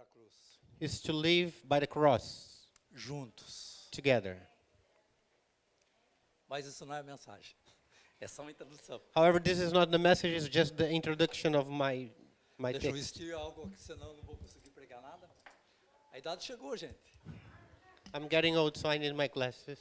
cruz, is to live by the cross juntos. together. Mas isso não é a mensagem. É só uma introdução. However, this is not the message, it's just the introduction of my Deixa eu text. vestir algo que senão eu não vou conseguir pregar nada. A idade chegou, gente. I'm getting old, so I need my glasses.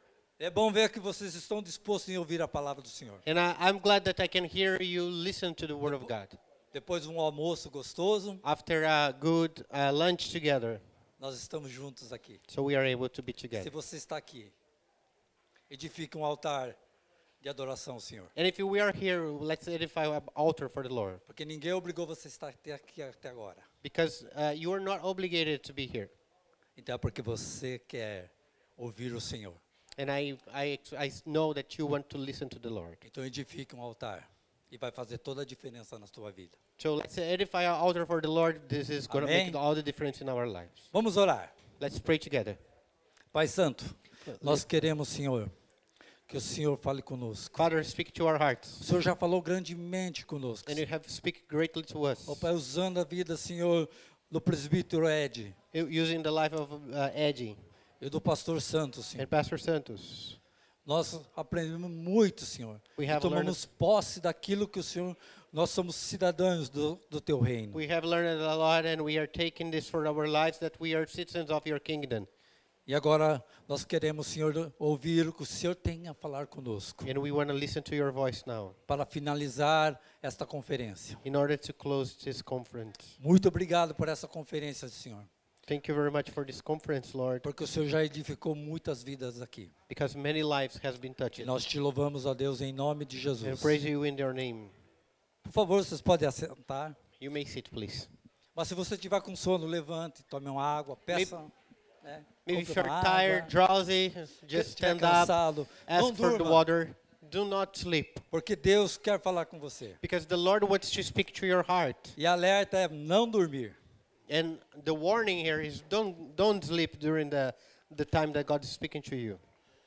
É bom ver que vocês estão dispostos em ouvir a palavra do Senhor. And I'm glad that I can hear you listen to the Word of God. Depois de um almoço gostoso, After a good lunch together, nós estamos juntos aqui. so we are able to be Se together. você está aqui, edifique um altar de adoração ao Senhor. And if we are here, let's edify an altar for the Lord. Porque ninguém obrigou você a estar aqui até agora. Because you are not obligated to be here. Então é porque você quer ouvir o Senhor. And I know that you want to listen to the Lord. Então edifique um altar. E vai fazer toda a diferença na sua vida. So let's edify our altar for the Lord. This is going to Amém. make all the difference in our lives. Vamos orar. Let's pray together. Pai Santo, nós queremos, Senhor, que o Senhor fale conosco. Father, speak to our hearts. O Senhor já falou grandemente conosco. And you have speak greatly to us. Ó Pai, usando a vida, Senhor, do presbítero Ed Using the life of Eddie e do pastor Santos, Senhor. and Pastor Santos. Nós aprendemos muito, Senhor. We E have tomamos posse daquilo que o Senhor, nós somos cidadãos do teu reino. We have learned a lot and we are taking this for our lives, that we are citizens of your kingdom. E agora nós queremos, Senhor, ouvir o que o Senhor tem a falar conosco. And we want to listen to your voice now Para finalizar esta conferência. in order to close this conference. Muito obrigado por essa conferência, Senhor. Thank you very much for this conference, Lord, Porque o Senhor já edificou muitas vidas aqui. because many lives has been E touched. nós te louvamos, ó Deus, em nome de And Jesus. praise you in your name. Por favor, vocês podem assentar. You may sit, please. Mas se você estiver com sono, levante, tome uma água, peça. Né, Maybe if compre you're uma tired, água. drowsy, Se just estiver stand up, cansado, não ask for the durma, water. Do not sleep, porque Deus quer falar com você. because the Lord wants to speak to your heart. E alerta é não dormir. And the warning here is don't sleep during the time that God is speaking to you.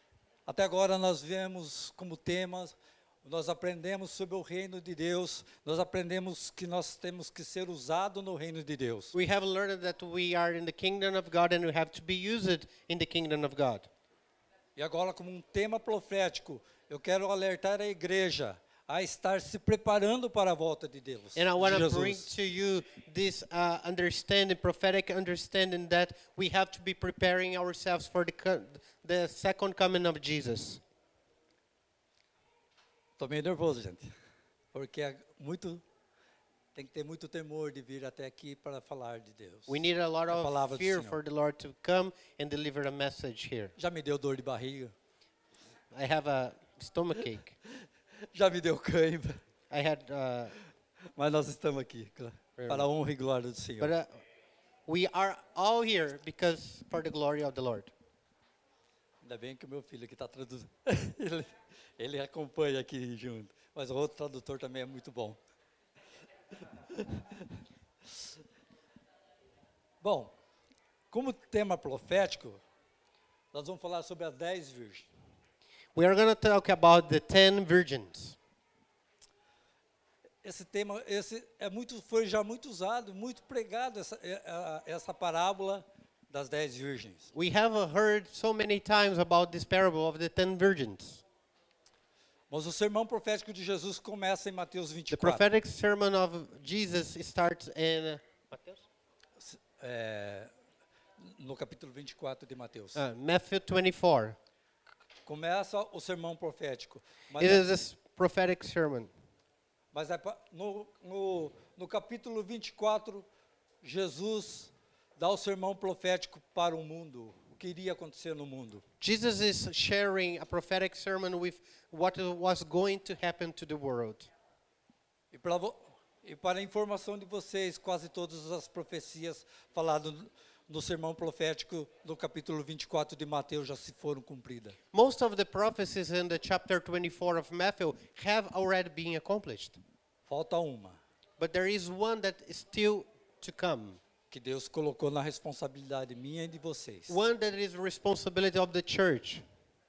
Até agora nós vemos como temas, nós aprendemos sobre o reino de Deus, nós aprendemos que nós temos que ser usados no reino de Deus. We have learned that we are in the kingdom of God and we have to be used in the kingdom of God. E agora, como um tema profético, eu quero alertar a igreja a estar se preparando para a volta de Deus. And I want de to bring Jesus. to you this understanding, prophetic understanding, that we have to be preparing ourselves for the second coming of Jesus. Estou meio nervoso, gente, porque tem que ter muito temor de vir até aqui para falar de Deus. We need a lot A palavra of do fear Senhor. for the Lord to come and deliver a message here. Já me deu dor de barriga, I have a stomachache. já me deu cãibra, I had, mas nós estamos aqui para a honra e glória do Senhor. but we are all here because for the glory of the Lord. Ainda bem que o meu filho que está traduzindo, ele acompanha aqui junto, mas o outro tradutor também é muito bom. Bom, como tema profético, nós vamos falar sobre as 10 virgens. We are going to talk about the 10 virgins. Esse tema foi já muito usado, muito pregado, essa parábola das 10 virgens. We have heard so many times about this parable of the 10 virgins. Mas o sermão profético de Jesus começa em Mateus The 24. prophetic sermon of Jesus starts in No capítulo 24 de Mateus. Matthew 24. Começa o sermão profético. Mas, It is a prophetic sermon. no capítulo 24, Jesus dá o sermão profético para o mundo, o que iria acontecer no mundo. Jesus is sharing a prophetic sermon with what was going to happen to the world. E para a informação de vocês, quase todas as profecias faladas no sermão profético do capítulo 24 de Mateus já se foram cumpridas. Most of the prophecies in the chapter 24 of Matthew have already been accomplished. Falta uma, But there is one that is still to come. que Deus colocou na responsabilidade minha e de vocês. One that is responsibility of the church.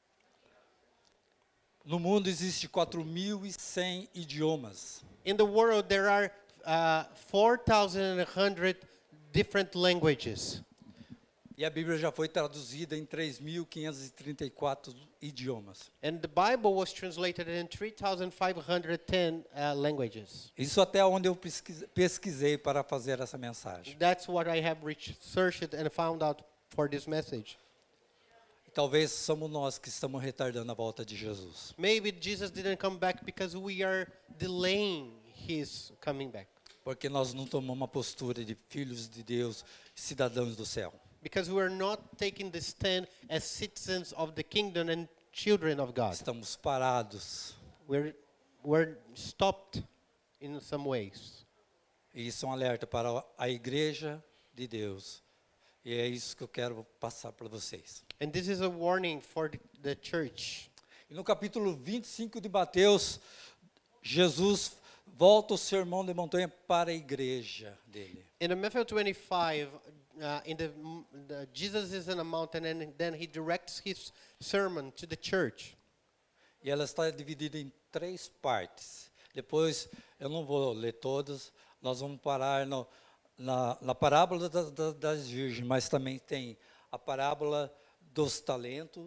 No mundo existe 4.100 idiomas. In the world there are 4,100 different languages. E a Bíblia já foi traduzida em 3.534 idiomas. And the Bible was translated in 3,510 languages. Isso até onde eu pesquisei para fazer essa mensagem. That's what I have researched and found out for this message. Talvez somos nós que estamos retardando a volta de Jesus. Maybe Jesus didn't come back because we are delaying his coming back. Porque nós não tomamos uma postura de filhos de Deus, cidadãos do céu. Because we are not taking the stand as citizens of the kingdom and children of God. Estamos parados. We're stopped in some ways. E isso é um alerta para a igreja de Deus. E é isso que eu quero passar para vocês. And this is a warning for the church. E no capítulo 25 de Mateus, Jesus volta o sermão de montanha para a igreja dele. In Matthew 25, Jesus is in a mountain and then he directs his sermon to the church. E ela está dividida em 3 partes. Depois, eu não vou ler todas, nós vamos parar na parábola das virgens, mas também tem a parábola dos talentos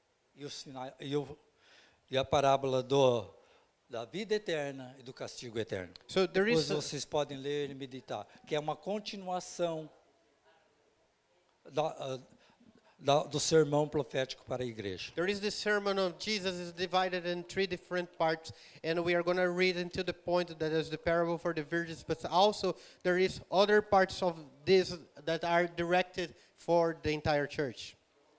e a parábola da vida eterna e do castigo eterno. So there Depois is vocês podem ler e meditar, que é uma continuação do sermão profético para a igreja. There is the sermon of Jesus is divided in 3 different parts, and we are going to read into the point that is the parable for the virgins, but also there is other parts of this that are directed for the entire church.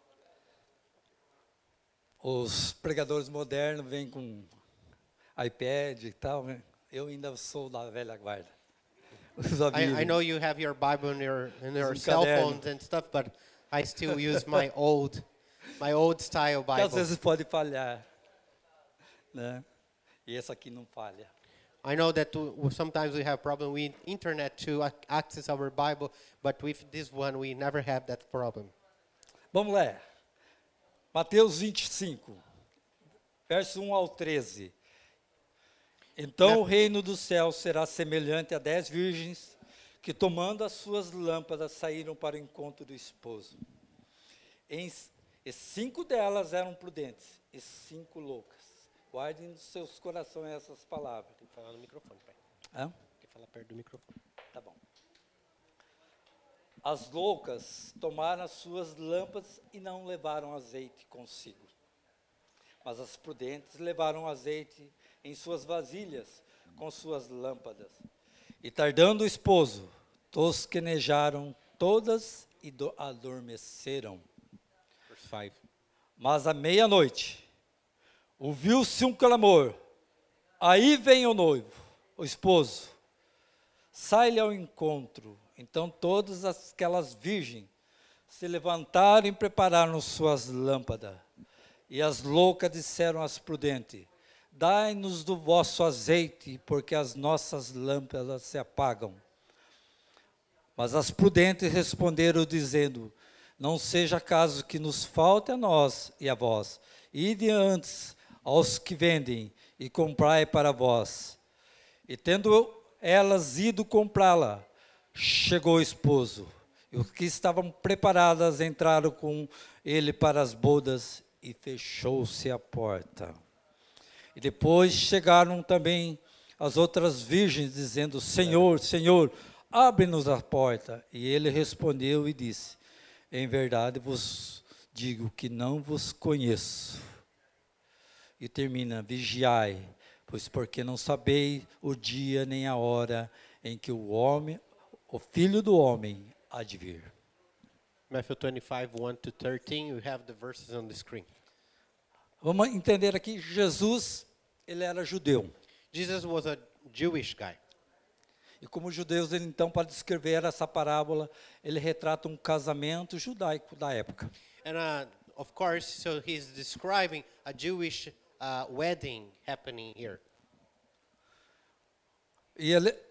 Os pregadores modernos vêm com iPad e tal, né? Eu ainda sou da velha guarda. I know you have your Bible in your cell phones and stuff, but I still use my old style Que às Bible. vezes pode falhar, né? E essa aqui não falha. I know that sometimes we have problem with internet to access our Bible, but with this one we never have that problem. Vamos lá. Mateus 25, verso 1 ao 13. Então o reino do céu será semelhante a 10 virgens que, tomando as suas lâmpadas, saíram para o encontro do esposo. E 5 delas eram prudentes e 5 loucas. Guardem nos seus corações essas palavras. Tem que falar no microfone, pai. Hã? Tem que falar perto do microfone. Tá bom. As loucas tomaram as suas lâmpadas e não levaram azeite consigo. Mas as prudentes levaram azeite em suas vasilhas com suas lâmpadas. E tardando o esposo, tosquenejaram todas e adormeceram. Verse 5. Mas à meia-noite, ouviu-se um clamor. Aí vem o noivo, o esposo. Sai-lhe ao encontro. Então todas aquelas virgens se levantaram e prepararam suas lâmpadas. E as loucas disseram às prudentes: dai-nos do vosso azeite, porque as nossas lâmpadas se apagam. Mas as prudentes responderam, dizendo: não seja caso que nos falte a nós e a vós. Ide antes aos que vendem e comprai para vós. E tendo elas ido comprá-la, chegou o esposo. E os que estavam preparadas entraram com ele para as bodas e fechou-se a porta. E depois chegaram também as outras virgens, dizendo: Senhor, Senhor, abre-nos a porta. E ele respondeu e disse: em verdade vos digo que não vos conheço. E termina: vigiai, pois porque não sabeis o dia nem a hora em que o Filho do Homem há de vir. Matthew 25, 1 to 13, you have the verses on the screen. Vamos entender aqui, Jesus, ele era judeu. Jesus was a Jewish guy. E como judeus, ele então, para descrever essa parábola, ele retrata um casamento judaico da época. And of course, so he's describing a Jewish wedding happening here. E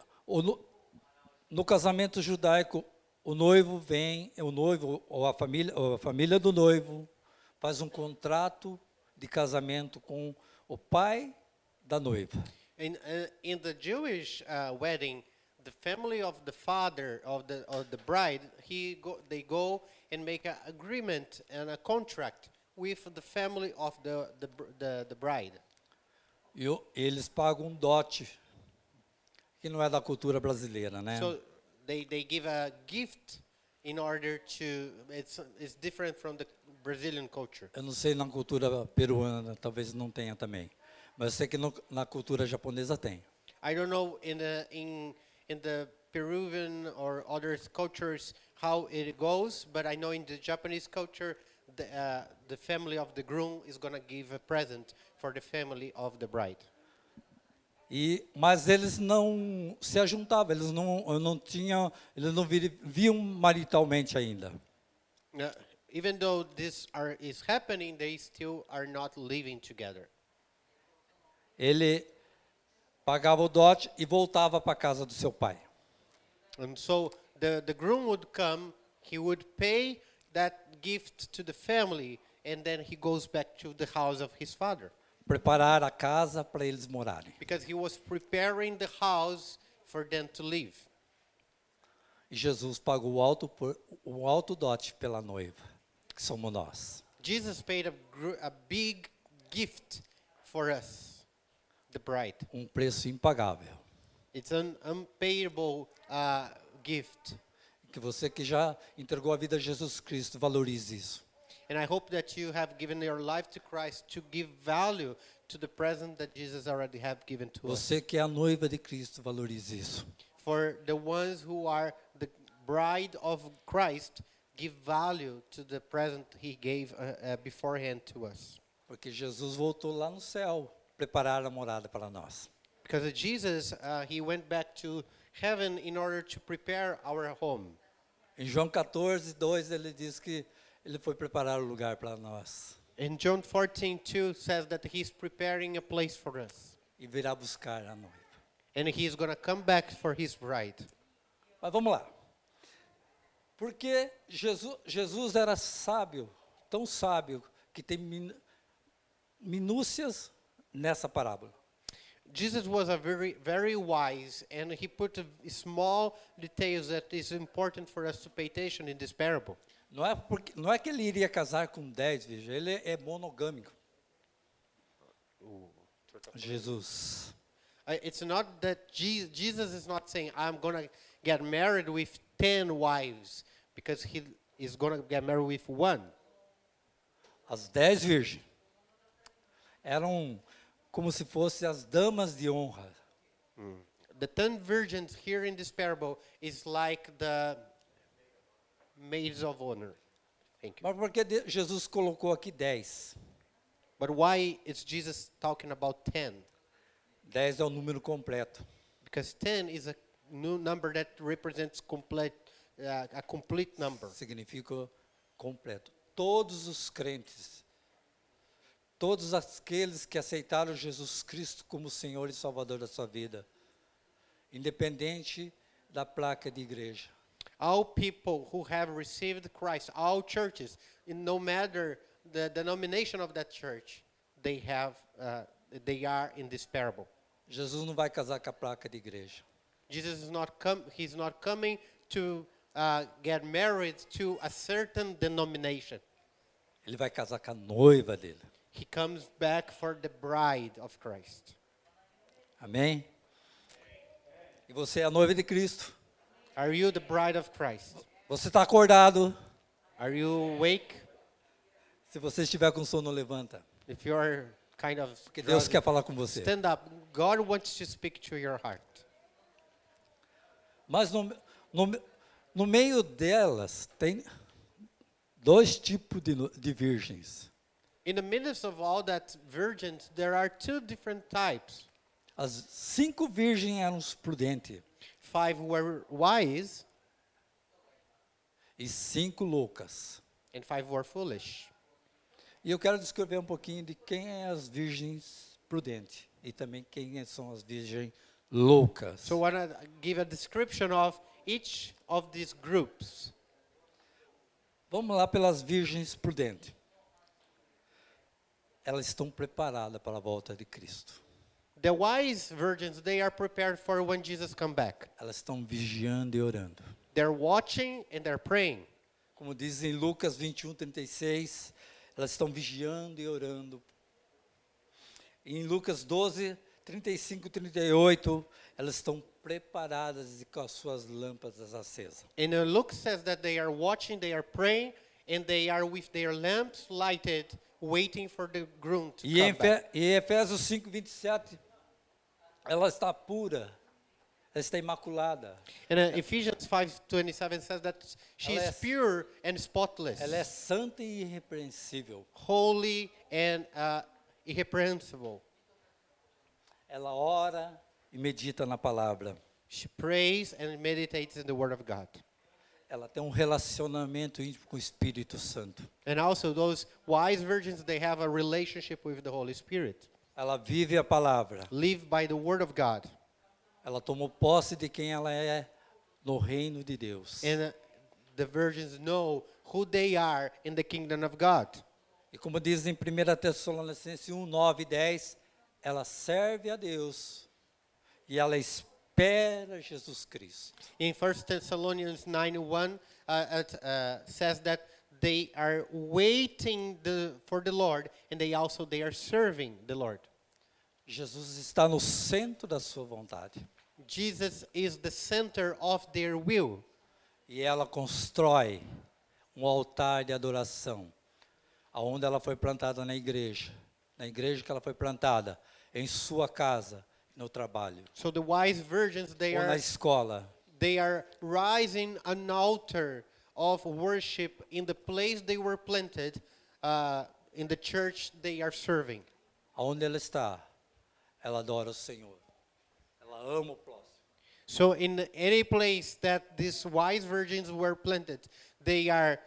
no casamento judaico, o noivo vem, ou a família do noivo faz um contrato de casamento com o pai da noiva. In the Jewish wedding, the family of the father of the bride, they go and make an agreement and a contract with the family of the bride. Eles pagam dote, que não é da cultura brasileira, né? So they give a gift in order to, it's different from the Brazilian culture. Eu não sei na cultura peruana, talvez não tenha também. Mas eu sei que na cultura japonesa tem. I don't know in the Peruvian or other cultures how it goes, but I know in the Japanese culture, the family of the groom is going to give a present for the family of the bride. Mas eles não se ajuntavam, eles não viam maritalmente ainda. Even though this is happening, they still are not living together. Ele pagava o dote e voltava para a casa do seu pai. And so the groom would come, he would pay that gift to the family, and then he goes back to the house of his father. Preparar a casa para eles morarem. Because he was preparing the house for them to live. E Jesus pagou o alto dote pela noiva, que somos nós. Jesus paid a big gift for us, the bride. Preço impagável. It's an unpayable gift. Que você que já entregou a vida a Jesus Cristo valorize isso. And I hope that you have given your life to Christ to give value to the present that Jesus already have given to us. Você que é a noiva de Cristo valorize isso. For the ones who are the bride of Christ, give value to the present he gave beforehand to us. Porque Jesus voltou lá no céu preparar a morada para nós. Because Jesus, he went back to heaven in order to prepare our home. Em João 14:2 ele diz que ele foi preparar o lugar para nós. In John 14:2 says that he's preparing a place for us. E virá buscar a noiva. And he's going to come back for his bride. Mas vamos lá. Porque Jesus era sábio, tão sábio, que tem minúcias nessa parábola. Jesus was a very wise, and he put small details that is important for us to pay attention in this parable. Não é que ele iria casar com 10 virgens, ele é monogâmico. Jesus. It's not that Jesus is not saying, I'm going to get married with 10 wives, because he is going to get married with one. As 10 virgens eram como se fossem as damas de honra. The 10 virgins here in this parable is like the maids of honor. Thank you. Mas por que Jesus colocou aqui 10? But why is Jesus talking about 10? 10 é o número completo. Because 10 is a new number that represents a complete number. Significa completo. Todos os crentes, todos aqueles que aceitaram Jesus Cristo como Senhor e Salvador da sua vida, independente da placa de igreja. All people who have received Christ, all churches, no matter the denomination of that church, they are in this parable. Jesus não vai casar com a placa de igreja. Jesus is he's not coming to get married to a certain denomination. Ele vai casar com a noiva dele. He comes back for the bride of Christ. Amém? E você é a noiva de Cristo. Are you the bride of Christ? Você está acordado? Are you awake? Se você estiver com sono, levanta. If you're kind of Porque Deus quer falar com você. stand up. God wants to speak to your heart. Mas no meio delas tem dois tipos de virgens. In the midst of all that virgins, there are two different types. As 5 virgens eram prudentes 5 were wise e 5 loucas. and 5 were foolish. E eu quero descrever um pouquinho de quem é as virgens prudentes e também quem são as virgens loucas. So I want to give a description of each of these groups. Vamos lá pelas virgens prudentes. Elas estão preparadas para a volta de Cristo. The wise virgins, they are prepared for when Jesus come back. Elas estão vigiando e orando. They're watching and they're praying. Como diz em Lucas 21:36, elas estão vigiando e orando. Em Lucas 12:35 e 38, elas estão preparadas e com as suas lâmpadas acesas. And Luke says that they are watching, they are praying, and they are with their lamps lighted, waiting for the groom to E em come back. Efésios 5:27, ela está pura, ela está imaculada. And Ephesians 5:27 says that she Ela is é- pure and spotless, Ela é santa e irrepreensível. holy and irreprehensible. Ela ora e medita na palavra. She prays and meditates in the Word of God. Ela tem um relacionamento íntimo com o Espírito Santo. And also those wise virgins, they have a relationship with the Holy Spirit. Ela vive a palavra. Live by the Word of God. Ela tomou posse de quem ela é no reino de Deus. And the virgins know who they are in the kingdom of God. E como diz em 1 Tessalonicenses 1, 9 e 10, ela serve a Deus e ela espera Jesus Cristo. In 1 Thessalonians 9:1, it says that they are waiting for the Lord, and they are serving the Lord. Jesus está no centro da sua vontade. Jesus is the center of their will. E ela constrói um altar de adoração, aonde ela foi plantada na igreja que ela foi plantada, em sua casa, no trabalho, So the wise virgins, ou na escola. they are rising an altar of worship in the place they were planted, in the church they are serving. Aonde ela está, ela adora o Senhor. Ela ama o próximo. So in any place that these wise virgins were planted, they are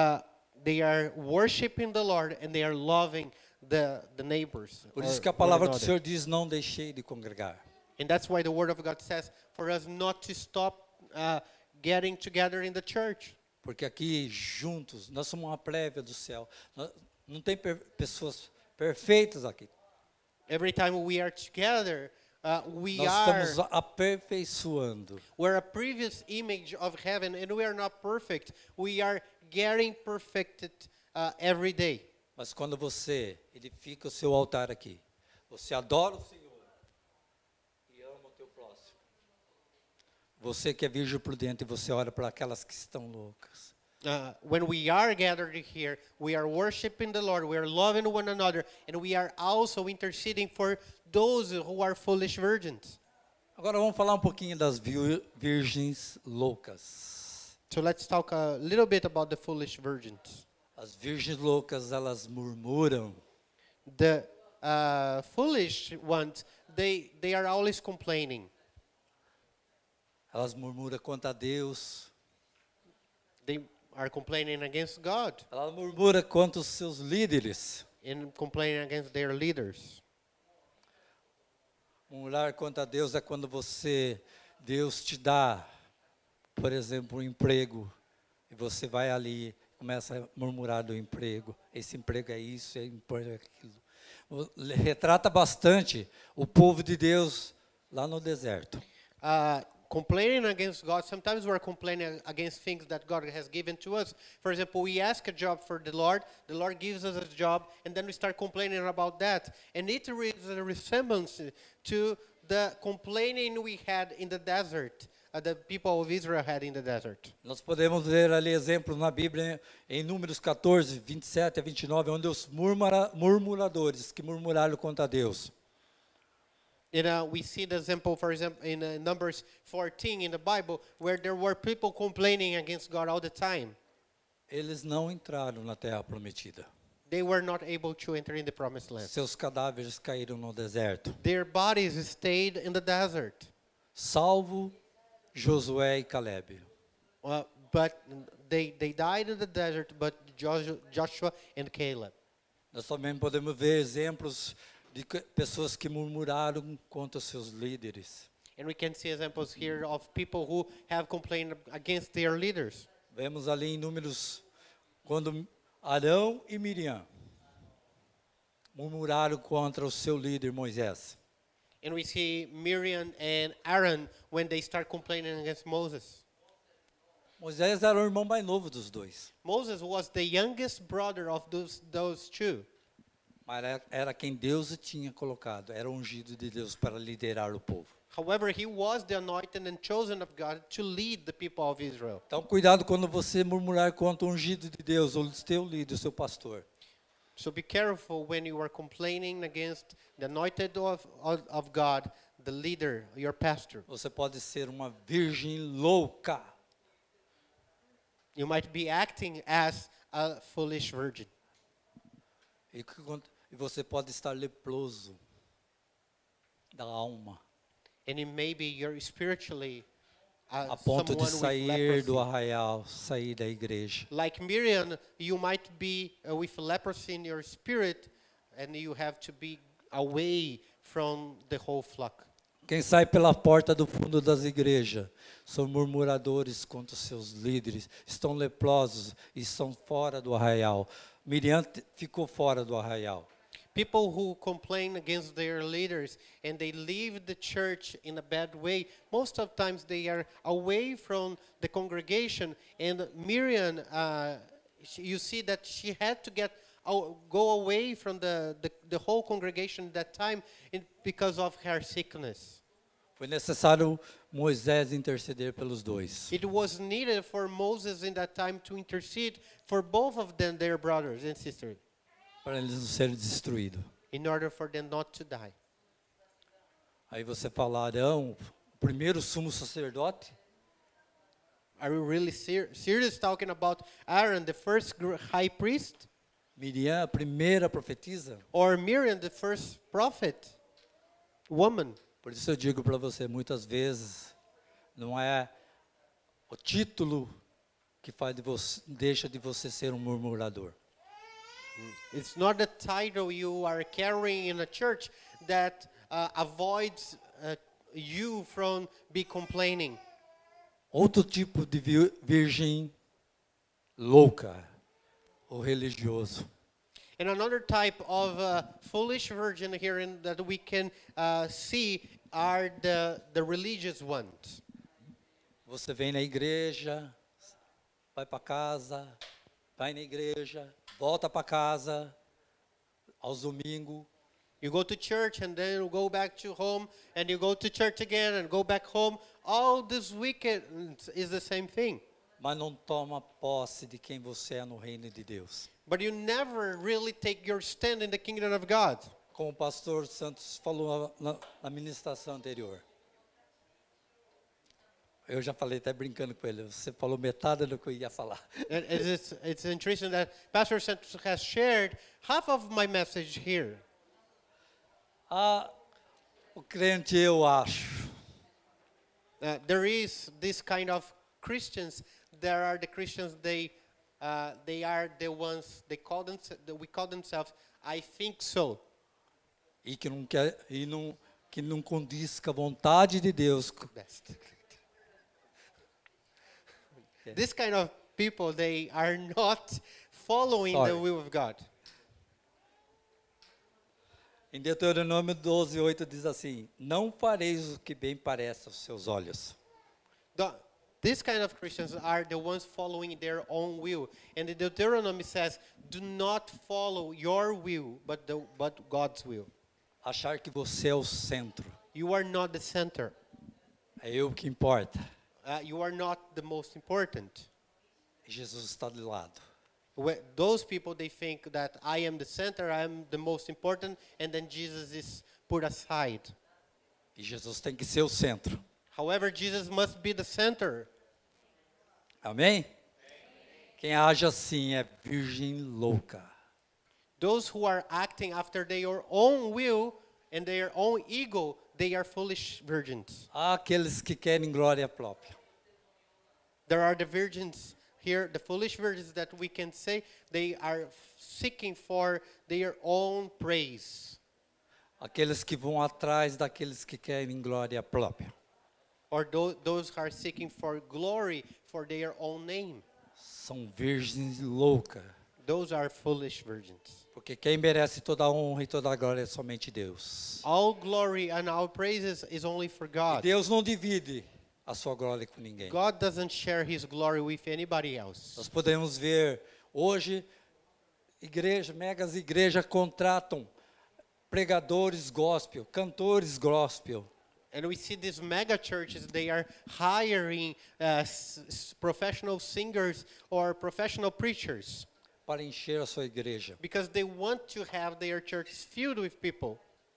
worshiping the Lord and they are loving the neighbors. Por or isso que a one palavra do another. Senhor diz, não deixei de congregar. And that's why the Word of God says for us not to stop getting together in the church. Porque aqui, juntos, nós somos uma prévia do céu. Não tem pessoas perfeitas aqui. Every time we are together, Nós estamos aperfeiçoando. we're a previous image of heaven, and we are not perfect. We are getting perfected every day. Mas quando você edifica o seu altar aqui, você adora o Senhor e ama o teu próximo. Você que é virgem prudente, você ora para aquelas que estão loucas. When we are gathered here, we are worshiping the Lord, we are loving one another, and we are also interceding for those who are foolish virgins. Agora vamos falar um pouquinho das virgens loucas. So let's talk a little bit about the foolish virgins. As virgens loucas, elas murmuram. The foolish ones, they are always complaining. Elas murmuram contra Deus. They are complaining against God Elas murmuram contra os seus líderes. and complaining against their leaders. Murmurar contra Deus é quando Deus te dá, por exemplo, um emprego, e você vai ali e começa a murmurar do emprego. Esse emprego é isso, esse emprego é aquilo. Retrata bastante o povo de Deus lá no deserto. Complaining against God, sometimes we're complaining against things that God has given to us. For example, we ask a job for the Lord gives us a job, and then we start complaining about that. And it is a resemblance to the complaining we had in the desert, the people of Israel had in the desert. Nós podemos ver ali exemplos na Bíblia, em Números 14, 27 a 29, onde os murmuradores que murmuraram contra Deus. We see the example, for example, in Numbers 14 in the Bible, where there were people complaining against God all the time. Eles não entraram na terra prometida. They were not able to enter in the promised land. Seus cadáveres caíram no deserto. Their bodies stayed in the desert. Salvo Josué e Caleb. But they died in the desert, but Joshua and Caleb. Nós também podemos ver exemplos de pessoas que murmuraram contra os seus líderes. And we can see examples here of people who have complained against their leaders. Vemos ali em Números, quando Arão e Miriam murmuraram contra o seu líder Moisés. And we see Miriam and Aaron when they start complaining against Moses. Moisés era o irmão mais novo dos dois, Moses was the youngest brother of those two. mas era quem Deus tinha colocado, era ungido de Deus para liderar o povo. However, he was the anointed and chosen of God to lead the people of Israel. Então, cuidado quando você murmurar contra o ungido de Deus, ou o teu líder, o seu pastor. So be careful when you are complaining against the anointed of God, the leader, your pastor. Você pode ser uma virgem louca. You might be acting as a foolish virgin. E você pode estar leproso da alma, And it may be you're spiritually a ponto de someone with sair do leprosy. arraial, sair da igreja. Like Miriam, you might be with leprosy in your spirit, and you have to be away from the whole flock. Quem sai pela porta do fundo das igrejas são murmuradores contra os seus líderes, estão leprosos e estão fora do arraial. Miriam ficou fora do arraial. People who complain against their leaders and they leave the church in a bad way, most of times they are away from the congregation. And Miriam, you see that she had to go away from the whole congregation at that time because of her sickness. Foi necessário Moisés interceder pelos dois. It was needed for Moses in that time to intercede for both of them, their brothers and sisters, Para eles não serem destruídos. in order for them not to die. Aí você fala, Arão, o primeiro sumo sacerdote? Are you really serious talking about Aaron, the first high priest? Miriam, a primeira profetisa? Or Miriam, the first prophet? Woman. Por isso eu digo para você, muitas vezes, não é o título que faz deixa de você ser um murmurador. It's not the title you are carrying in a church that avoids you from be complaining. Outro tipo de virgem louca, o religioso. And another type of foolish virgin here that we can see are the religious ones. Você vem na igreja, vai para casa, vai na igreja, volta para casa, aos domingos. You go to church and then you go back to home, and you go to church again and go back home. All this weekend is the same thing. Mas não toma posse de quem você é no reino de Deus. But you never really take your stand in the kingdom of God. Como o pastor Santos falou na ministração anterior. Eu já falei até brincando com ele, você falou metade do que eu ia falar. And it's interesting that Pastor Santos has shared half of my message here. O crente, eu acho, There is this kind of Christians. There are the Christians. They are the ones we call themselves. I think so. e que não quer que não condiz com a vontade de Deus. Best. This kind of people, they are not following the Sorry. will of God. Em Deuteronômio 12:8 diz assim: não fareis o que bem parece aos seus olhos. These kind of Christians are the ones following their own will. And the Deuteronomy says, do not follow your will, but God's will. Achar que você é o centro, You are not the center. é eu que importa. You are not the most important. E Jesus está do lado. Those people, they think that I am the center, I am the most important, and then Jesus is put aside. E Jesus tem que ser o centro. However, Jesus must be the center. Amém? Quem age assim é virgem louca. Those who are acting after their own will and their own ego, they are foolish virgins. Há aqueles que querem glória própria. There are the virgins here, the foolish virgins that we can say they are seeking for their own praise. Aqueles que vão atrás daqueles que querem glória própria. Or those who are seeking for glory for their own name. São virgens loucas. Those are foolish virgins. Porque quem merece toda a honra e toda a glória é somente Deus. All glory and all praises is only for E God. Deus não divide a sua glória com ninguém. God doesn't share his glory with anybody else. Nós podemos ver hoje megas igrejas contratam pregadores gospel, cantores gospel. And we see these mega churches, they are hiring professional singers or professional preachers Para encher a sua igreja. because they want to have their churches filled with people.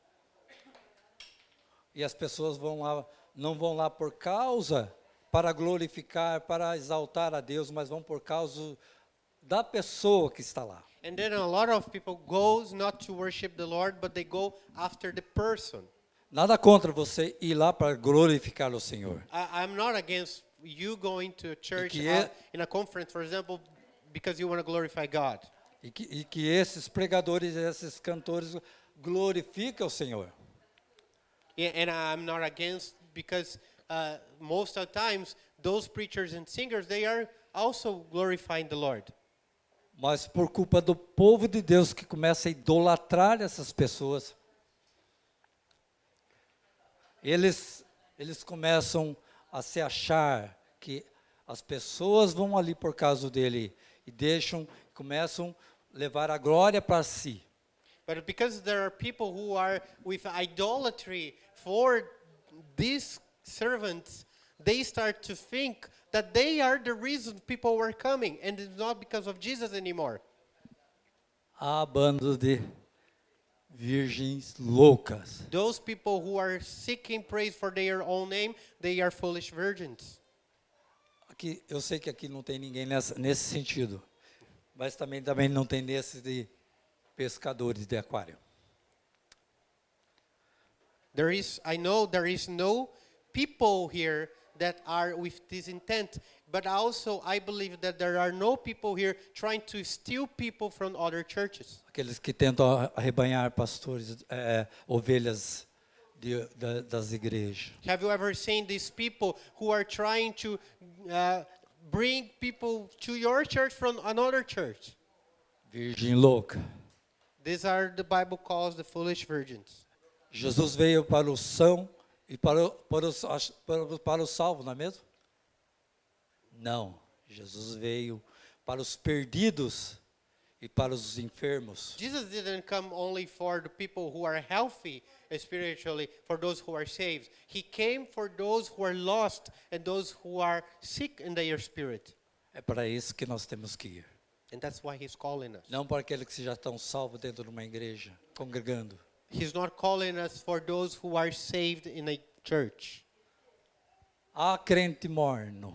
E as pessoas não vão lá por causa para glorificar, para exaltar a Deus, mas vão por causa da pessoa que está lá. And then a lot of people goes not to worship the Lord, but they go after the person. Nada contra você ir lá para glorificar o Senhor. I'm not against you going to a church que é- in a conference, for example, because you want to glorify God. E que esses pregadores, esses cantores glorificam o Senhor. Yeah, and I'm not against because most of the times those preachers and singers, they are also glorifying the Lord. Mas por culpa do povo de Deus que começa a idolatrar essas pessoas, eles começam a se achar que as pessoas vão ali por causa dele e começam a levar a glória para si. But because there are people who are with idolatry for these servants, they start to think that they are the reason people were coming, and it's not because of Jesus anymore. Há bando de virgens loucas. Those people who are seeking praise for their own name, they are foolish virgins. Aqui, eu sei que aqui não tem ninguém nesse sentido, mas também não tem nesse de pescadores de aquário. I know there is no people here that are with this intent, but also I believe that there are no people here trying to steal people from other churches. Aqueles que tentam arrebanhar ovelhas das igrejas. Have you ever seen these people who are trying to bring people to your church from another church? Virgem louca. These are the Bible calls the foolish virgins. Jesus veio para o são e para o salvo, não é mesmo? Não. Jesus veio para os perdidos e para os enfermos. Jesus didn't come only for the people who are healthy spiritually, for those who are saved. He came for those who are lost and those who are sick in their spirit. É para isso que nós temos que ir. And that's why he's calling us. Não para aqueles que já estão salvos dentro de uma igreja, congregando. He's not calling us for those who are saved in a church. Há crente morno.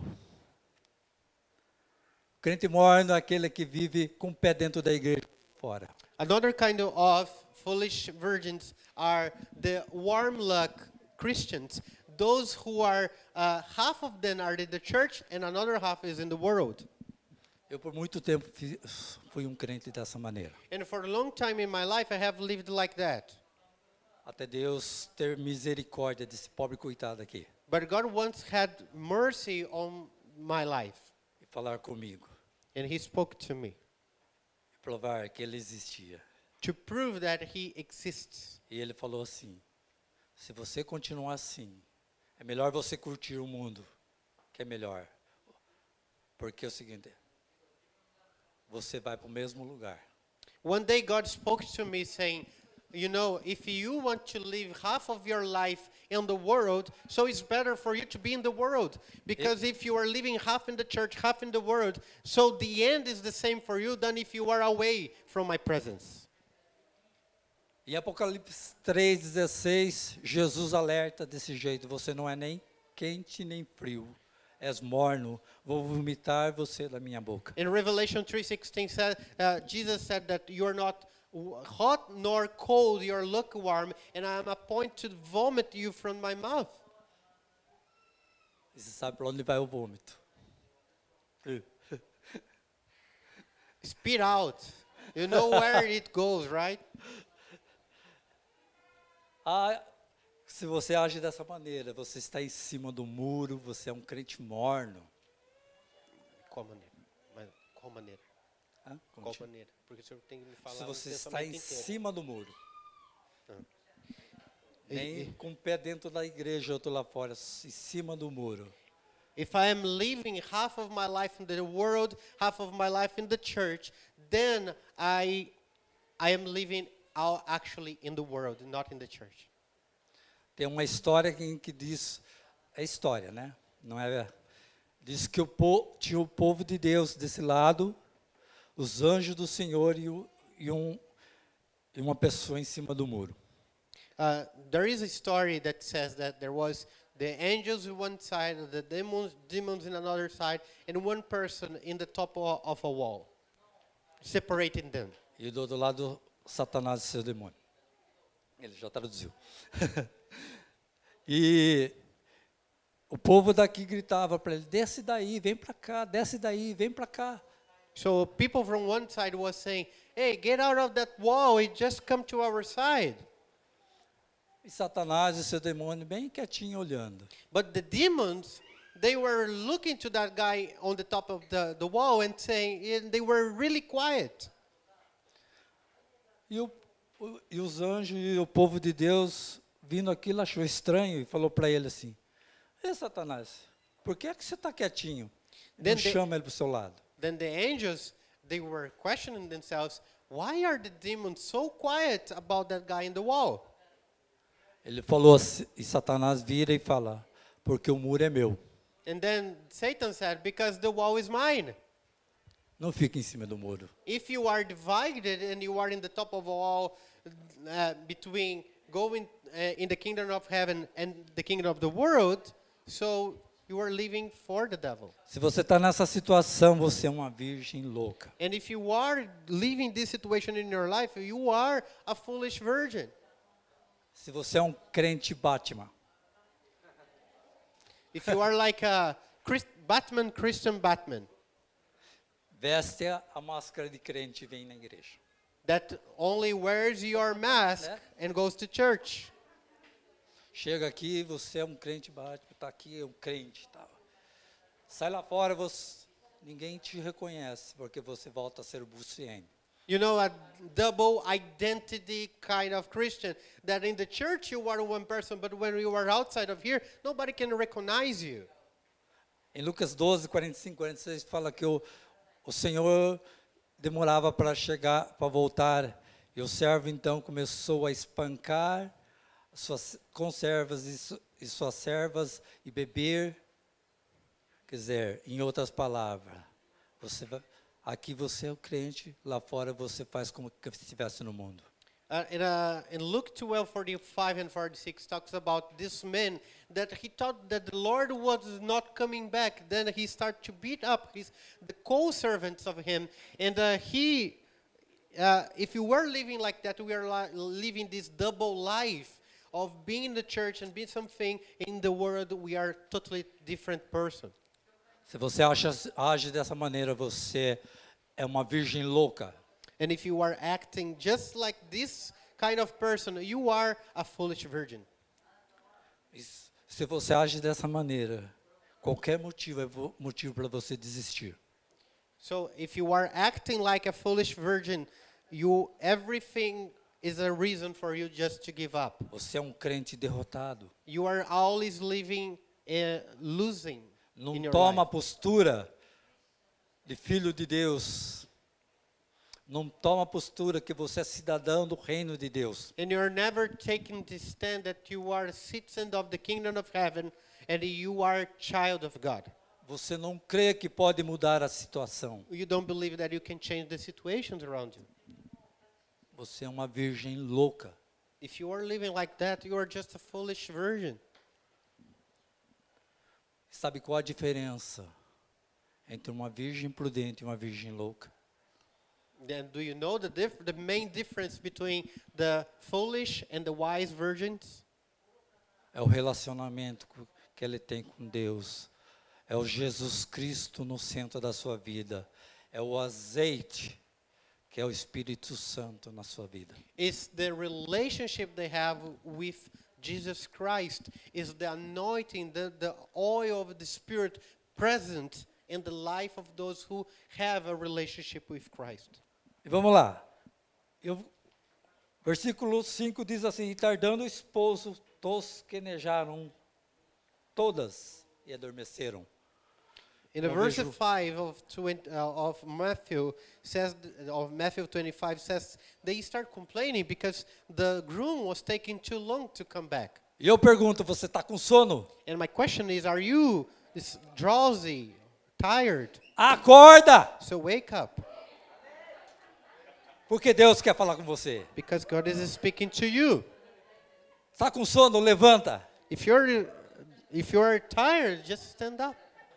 Crente morno é aquele que vive com o pé dentro da igreja fora. Another kind of foolish virgins are the warm luck Christians. Those who are, half of them are in the church and another half is in the world. Eu por muito tempo fui um crente dessa maneira. And for a long time in my life I have lived like that. Até Deus ter misericórdia desse pobre coitado aqui. But God once had mercy on my life. E falar comigo. And he spoke to me. E provar que ele existia. To prove that he exists. E ele falou assim, se você continuar assim, é melhor você curtir o mundo, que é melhor. Porque é o seguinte, você vai para o mesmo lugar. One day God spoke to me saying, you know, if you want to live half of your life in the world, so it's better for you to be in the world. Because if you are living half in the church, half in the world, so the end is the same for you than if you are away from my presence. Em Apocalipse 3,16, Jesus alerta desse jeito, você não é nem quente nem frio, és morno, vou vomitar você da minha boca. In Revelation 3:16, Jesus said that you are not hot nor cold, you are lukewarm, and I am appointed to vomit you from my mouth. E você sabe para onde vai o vômito? Spit out. You know where it goes, right? Se você age dessa maneira, você está em cima do muro, você é um crente morno. Qual maneira? Qual maneira? Como Qual diz? maneira? Porque o senhor tem que me falar Se o você está pensamento em inteiro. cima do muro. E- Nem com o pé dentro da igreja, outro lá fora, em cima do muro. If I am living half of my life in the world, half of my life in the church, then I am living out actually in the world, not in the church. Tem uma história que diz, é história, né? Não é? Diz que tinha o povo de Deus desse lado, os anjos do Senhor e uma pessoa em cima do muro. There is a story that says that there was the angels on one side, the demons in another side, and one person in the top of a wall, separating them. E do outro lado, Satanás e seu demônio. Ele já traduziu. E o povo daqui gritava para ele, desce daí, vem para cá, desce daí, vem para cá. So people from one side was saying, "Hey, get out of that wall! It just come to our side." E Satanás e seu demônio bem quietinho olhando. But the demons, they were looking to that guy on the top of the wall and saying, and they were really quiet. E os anjos e o povo de Deus, vindo aquilo, achou estranho e falou para ele assim, Ei, Satanás, por que é que você está quietinho? Não chama ele para o seu lado. Then the angels, they were questioning themselves, why are the demons so quiet about that guy in the wall? Ele falou assim, e Satanás vira e fala, porque o muro é meu. And then Satan said, because the wall is mine. Não fique em cima do muro. If you are divided and you are in the top of a wall between going in the kingdom of heaven and the kingdom of the world, so you are living for the devil. Se você está nessa situação, você é uma virgem louca. And if you are living this situation in your life, you are a foolish virgin. Se você é um crente Batman, If you are like a Christian Batman, veste a máscara de crente e vem na igreja. that only wears your mask and goes to church. Chega aqui, você é um crente Batman, está aqui, é um crente. Tá. Sai lá fora, ninguém te reconhece, porque você volta a ser o Buciene. You know, a double identity kind of Christian, that in the church you are one person, but when you are outside of here, nobody can recognize you. Em Lucas 12, 45, 46, fala que o Senhor demorava para chegar, para voltar, e o servo então começou a espancar suas conservas e suas servas e beber. Quer dizer, em outras palavras, aqui você é o crente, lá fora você faz como que estivesse no mundo. In Luke 12:45 and 46 talks about this man that he thought that the Lord was not coming back. Then he started to beat up the co-servants of him, and if you were living like that, we are living this double life of being in the church and being something in the world. We are totally different person. Se você age dessa maneira, você é uma virgem louca. And if you are acting just like this kind of person, you are a foolish virgin. Se você age dessa maneira, qualquer motivo é motivo para você desistir. So if you are acting like a foolish virgin, everything is a reason for you just to give up. Você é um crente derrotado. You are always living losing Não in your toma a life. postura de filho de Deus. Não toma a postura que você é cidadão do reino de Deus. And you're never taking the stand that you are a citizen of the kingdom of heaven and you are a child of God. Você não crê que pode mudar a situação. You don't believe that you can change the situations around you. Você é uma virgem louca. If you are living like that, you are just a foolish virgin. Sabe qual a diferença entre uma virgem prudente e uma virgem louca? Then do you know the main difference between the foolish and the wise virgins? É o relacionamento que ele tem com Deus. É o Jesus Cristo no centro da sua vida. É o azeite que é o Espírito Santo na sua vida. It's the relationship they have with Jesus Christ. Is the anointing, the oil of the Spirit present in the life of those who have a relationship with Christ. E vamos lá. Versículo 5 diz assim: e tardando o esposo, tosquenejaram todas e adormeceram. In the Eu verse vejo- 5 of Matthew says, of Matthew 25 says, they start complaining because the groom was taking too long to come back. E eu pergunto, você está com sono? And my question is, are you drowsy, tired? Acorda! So wake up, Porque Deus quer falar com você. because God is speaking to you. Está com sono? Levanta. If you're tired, just stand up.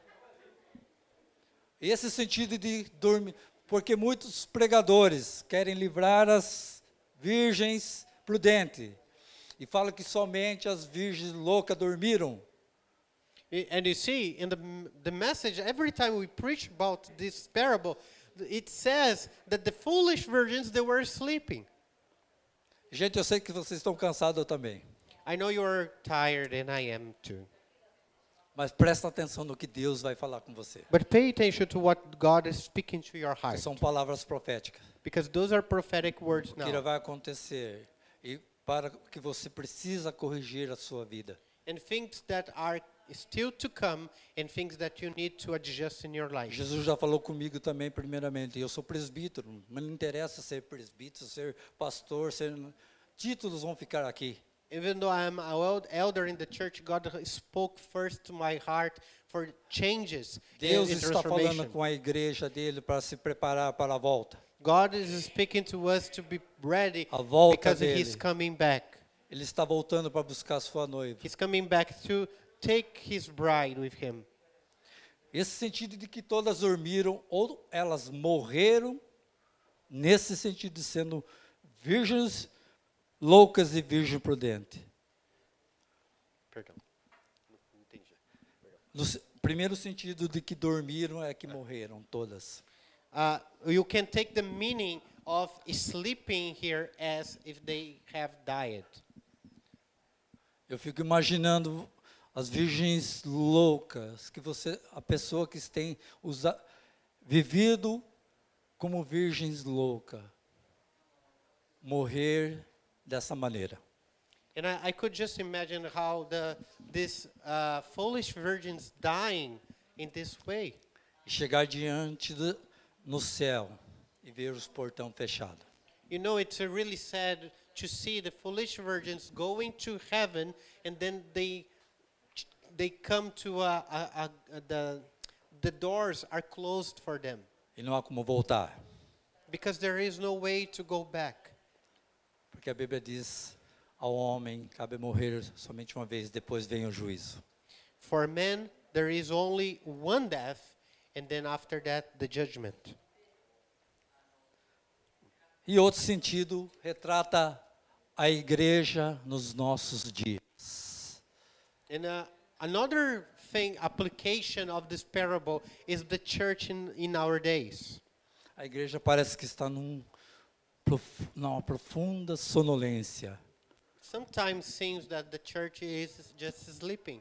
E esse sentido de dormir, porque muitos pregadores querem livrar as virgens prudentes e falam que somente as virgens loucas dormiram. And you see, in the message, every time we preach about this parable, it says that the foolish virgins, they were sleeping. Gente, eu sei que vocês estão cansados, eu também. I know you're tired, and I am too. Mas presta atenção no que Deus vai falar com você. But pay attention to what God is speaking to your heart, São palavras proféticas. because those are prophetic words O que now. vai acontecer e para que você precisa corrigir a sua vida. And things that are still to come, and things that you need to adjust in your life. Jesus já falou comigo também, primeiramente. Eu sou presbítero, mas não interessa ser presbítero, ser pastor, títulos vão ficar aqui. Even though I'm an elder in the church, God spoke first to my heart for changes Deus in está falando transformation. com a igreja dele para se preparar para a volta. God is speaking to us to be ready A volta because dele. He's coming back. Ele está voltando para buscar a sua noiva. He's coming back to take His bride with Him. Esse sentido de que todas dormiram ou elas morreram, nesse sentido de sendo virgens loucas e virgem prudente. Perdão. Primeiro sentido de que dormiram é que morreram todas. You can take the meaning of sleeping here as if they have died. Eu fico imaginando as virgens loucas, a pessoa que tem vivido como virgens loucas, morrer dessa maneira. And I could just imagine how these foolish virgins dying in this way. E chegar diante no céu e ver os portão fechados. You know, it's really sad to see the foolish virgins going to heaven, and then they come to the doors are closed for them, E não há como voltar. because there is no way to go back. Porque a Bíblia diz, ao homem cabe morrer somente uma vez, depois vem o juízo. For men, there is only one death, and then after that, the judgment. E outro sentido, retrata a igreja nos nossos dias. And another thing, application of this parable is the church in our days. A igreja parece que está numa profunda sonolência. Sometimes seems that the church is just sleeping.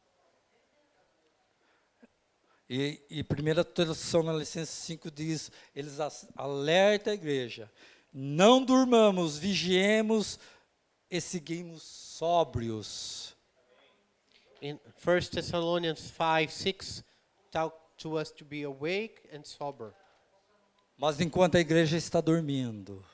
E 1 Tessalonicenses 5 diz, eles alertam a igreja, não durmamos, vigiemos e seguimos sóbrios. In 1 Thessalonians 5:6, talk to us to be awake and sober. Mas enquanto a igreja está dormindo,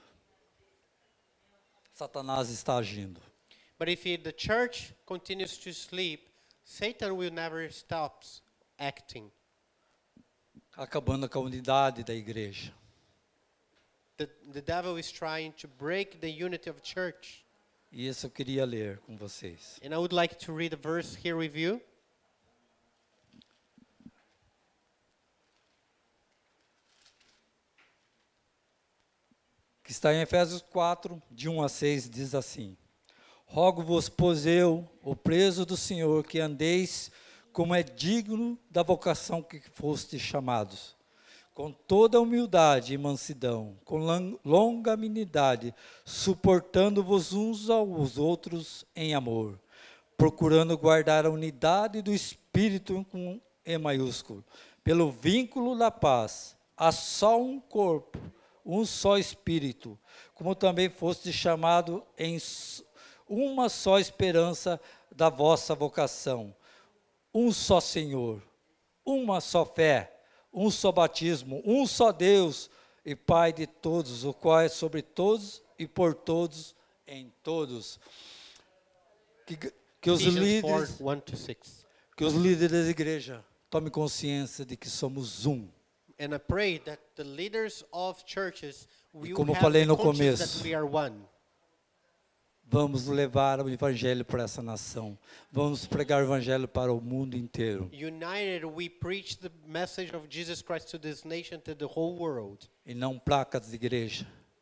Satanás está agindo. But if the church continues to sleep, Satan will never stop acting. Acabando com a unidade da igreja. The devil is trying to break the unity of church. E isso eu queria ler com vocês. And I would like to read a verse here with you. Que está em Efésios 4, de 1 a 6, diz assim: Rogo-vos, pois eu, o preso do Senhor, que andeis como é digno da vocação que fostes chamados, com toda humildade e mansidão, com longanimidade, suportando-vos uns aos outros em amor, procurando guardar a unidade do Espírito com E maiúsculo, pelo vínculo da paz, há só um corpo, um só espírito, como também foste chamado em uma só esperança da vossa vocação, um só Senhor, uma só fé, um só batismo, um só Deus e Pai de todos, o qual é sobre todos e por todos em todos. Que os Ephesians líderes, 4, 1-6. que os líderes da igreja tomem consciência de que somos um. And I pray that the leaders of churches will como eu have falei the no conscience começo, that we are one. Vamos levar o evangelho para essa nação. Vamos pregar o evangelho para o mundo inteiro. United, we preach the message of Jesus Christ to this nation, to the whole world. E não placas de igreja.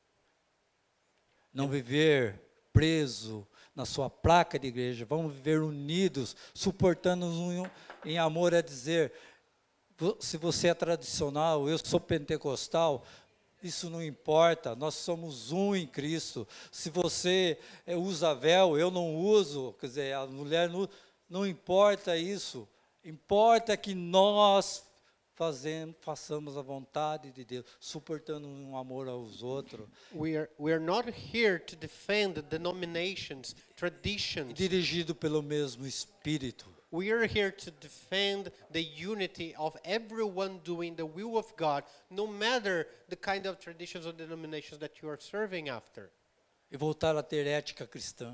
Não viver preso na sua placa de igreja. Vamos viver unidos, suportando-nos em amor, a dizer, se você é tradicional, eu sou pentecostal, isso não importa, nós somos um em Cristo. Se você usa véu, eu não uso, quer dizer, a mulher não importa isso. Importa que nós façamos a vontade de Deus, suportando um amor aos outros. We are not here to defend denominations, traditions. Dirigido pelo mesmo Espírito. We are here to defend the unity of everyone doing the will of God, no matter the kind of traditions or denominations that you are serving after. E voltar a ter ética cristã.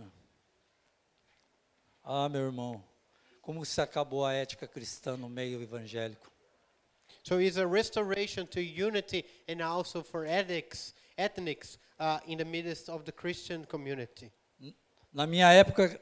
Ah, meu irmão, como se acabou a ética cristã no meio evangélico? So it's a restoration to unity and also for ethnics in the midst of the Christian community. Na minha época,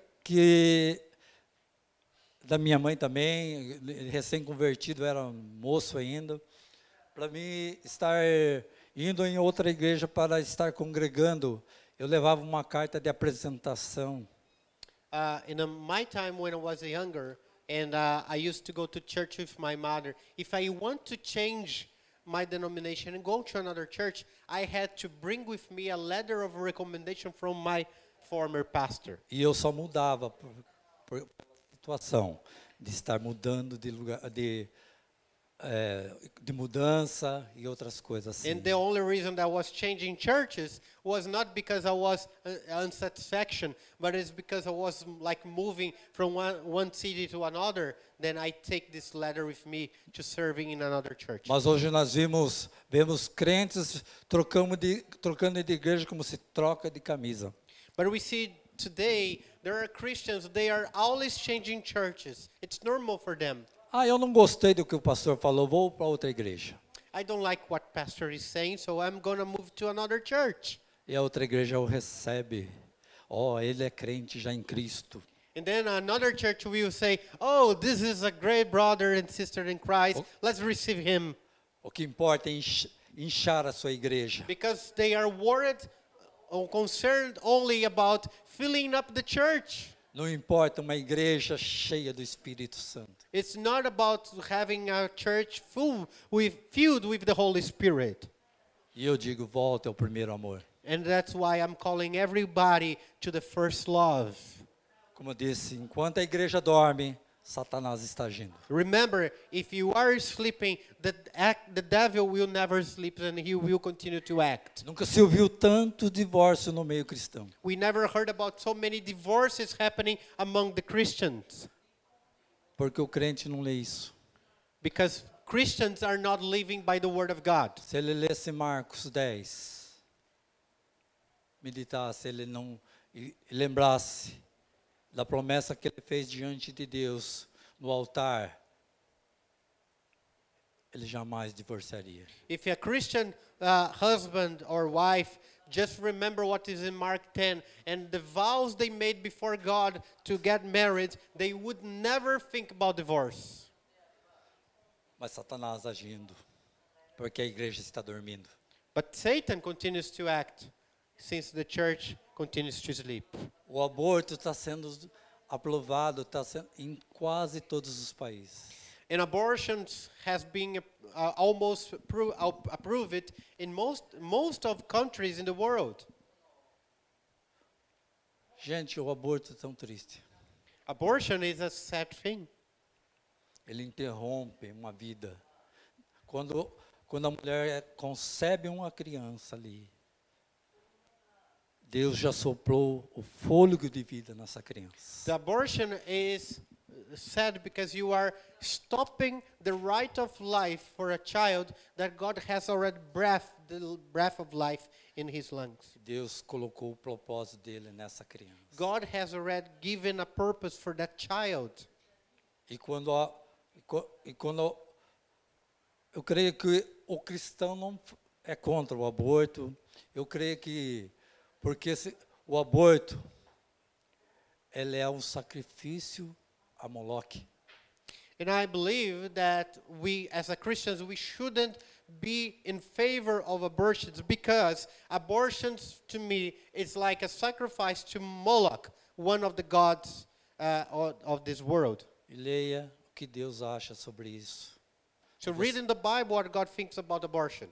da minha mãe também, recém-convertido, era moço ainda, para mim estar indo em outra igreja para estar congregando, eu levava uma carta de apresentação. In my time when I was younger, and I used to go to church with my mother, if I want to change my denomination and go to another church, I had to bring with me a letter of recommendation from my former pastor. E eu só mudava por situação de estar mudando de lugar, de mudança e outras coisas assim. And the only reason that I was changing churches was not because I was unsatisfaction, but it's because I was like moving from one city to another. Then I take this letter with me to serving in another church. Mas hoje nós vemos crentes trocando de igreja como se troca de camisa. But we see today there are Christians, they are always changing churches. It's normal for them. Ah, eu não gostei do que o pastor falou, vou para outra igreja. I don't like what pastor is saying, so I'm going to move to another church. E a outra igreja o recebe. Ele é crente já em Cristo. And then another church will say, oh, this is a great brother and sister in Christ. Let's receive him. O que importa é inchar a sua igreja. Because they are worried or concerned only about filling up the church. Não importa uma igreja cheia do Espírito Santo. It's not about having a church filled with the Holy Spirit. E eu digo, volta ao primeiro amor. And that's why I'm calling everybody to the first love. Como eu disse, enquanto a igreja dorme, Satanás está agindo. Remember, if you are sleeping, the devil will never sleep and he will continue to act. Nunca se ouviu tanto divórcio no meio cristão. We never heard about so many divorces happening among the Christians. Porque o crente não lê isso. Because Christians are not living by the word of God. Se ele lesse Marcos 10, meditasse, ele não lembrasse da promessa que ele fez diante de Deus no altar, ele jamais divorciaria. If a Christian husband or wife just remember what is in Mark 10 and the vows they made before God to get married, they would never think about divorce. Mas Satanás agindo, porque a igreja está dormindo. But Satan continues to act since the church continues to sleep. O aborto está sendo aprovado, em quase todos os países. And abortions has been almost approved in most of countries in the world. Gente, o aborto é tão triste. Abortion is a sad thing. Ele interrompe uma vida Quando a mulher concebe uma criança ali, Deus já soprou o fôlego de vida nessa criança. The abortion is sad because you are stopping the right of life for a child that God has already the breath of life in his lungs. Deus colocou o propósito dele nessa criança. God has already given a purpose for that child. E quando eu creio que o cristão não é contra o aborto, eu creio que porque o aborto ele é um sacrifício a Moloque. And I believe that we, as a Christians, we shouldn't be in favor of abortions because abortions, to me, is like a sacrifice to Moloch, one of the gods of this world. E leia o que Deus acha sobre isso. So read in the Bible what God thinks about abortion.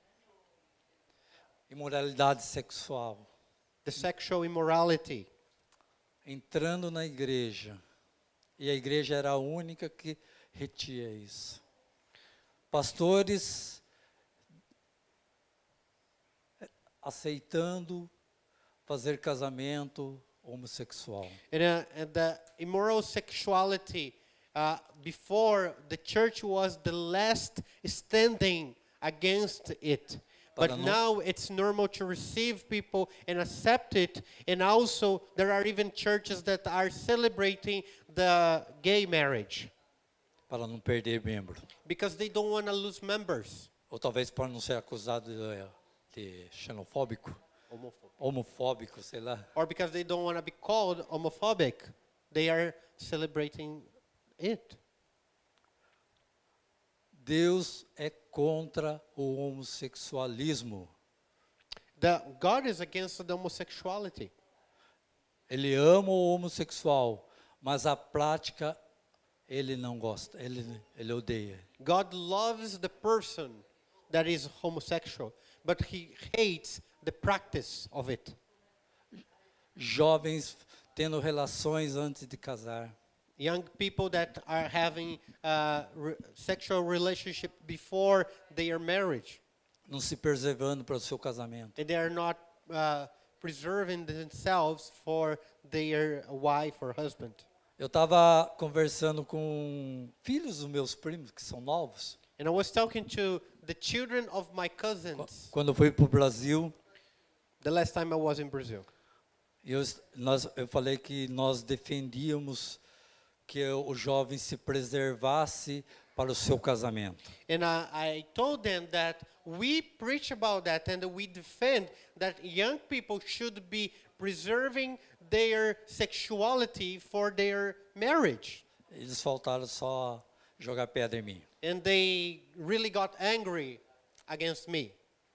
Imoralidade sexual. The sexual immorality. Entrando na igreja. E a igreja era a única que retia isso. Pastores aceitando fazer casamento homossexual. And the immoral sexuality, before the church was the last standing against it. But now it's normal to receive people and accept it. And also there are even churches that are celebrating the gay marriage. Para não perder membro. Because they don't want to lose members. Ou talvez para não ser acusado de xenofóbico. Homofóbico, sei lá. Or because they don't want to be called homophobic. They are celebrating it. Deus é contra o homossexualismo. God is against the homosexuality. Ele ama o homossexual, mas a prática ele não gosta, ele odeia. God loves the person that is homosexual, but he hates the practice of it. Jovens tendo relações antes de casar. Young people that are having sexual relationship before their marriage. Não se preservando para o seu casamento. And they are not preserving themselves for their wife or husband. Eu estava conversando com filhos dos meus primos, que são novos. And I was talking to the children of my cousins. Quando eu fui para o Brasil, the last time I was in Brazil. Eu falei que nós defendíamos que o jovem se preservasse para o seu casamento. And I told them that we preach about that and we defend that young people should be preserving their sexuality for their marriage. Eles faltaram só jogar pedra em mim. And they really got angry against me.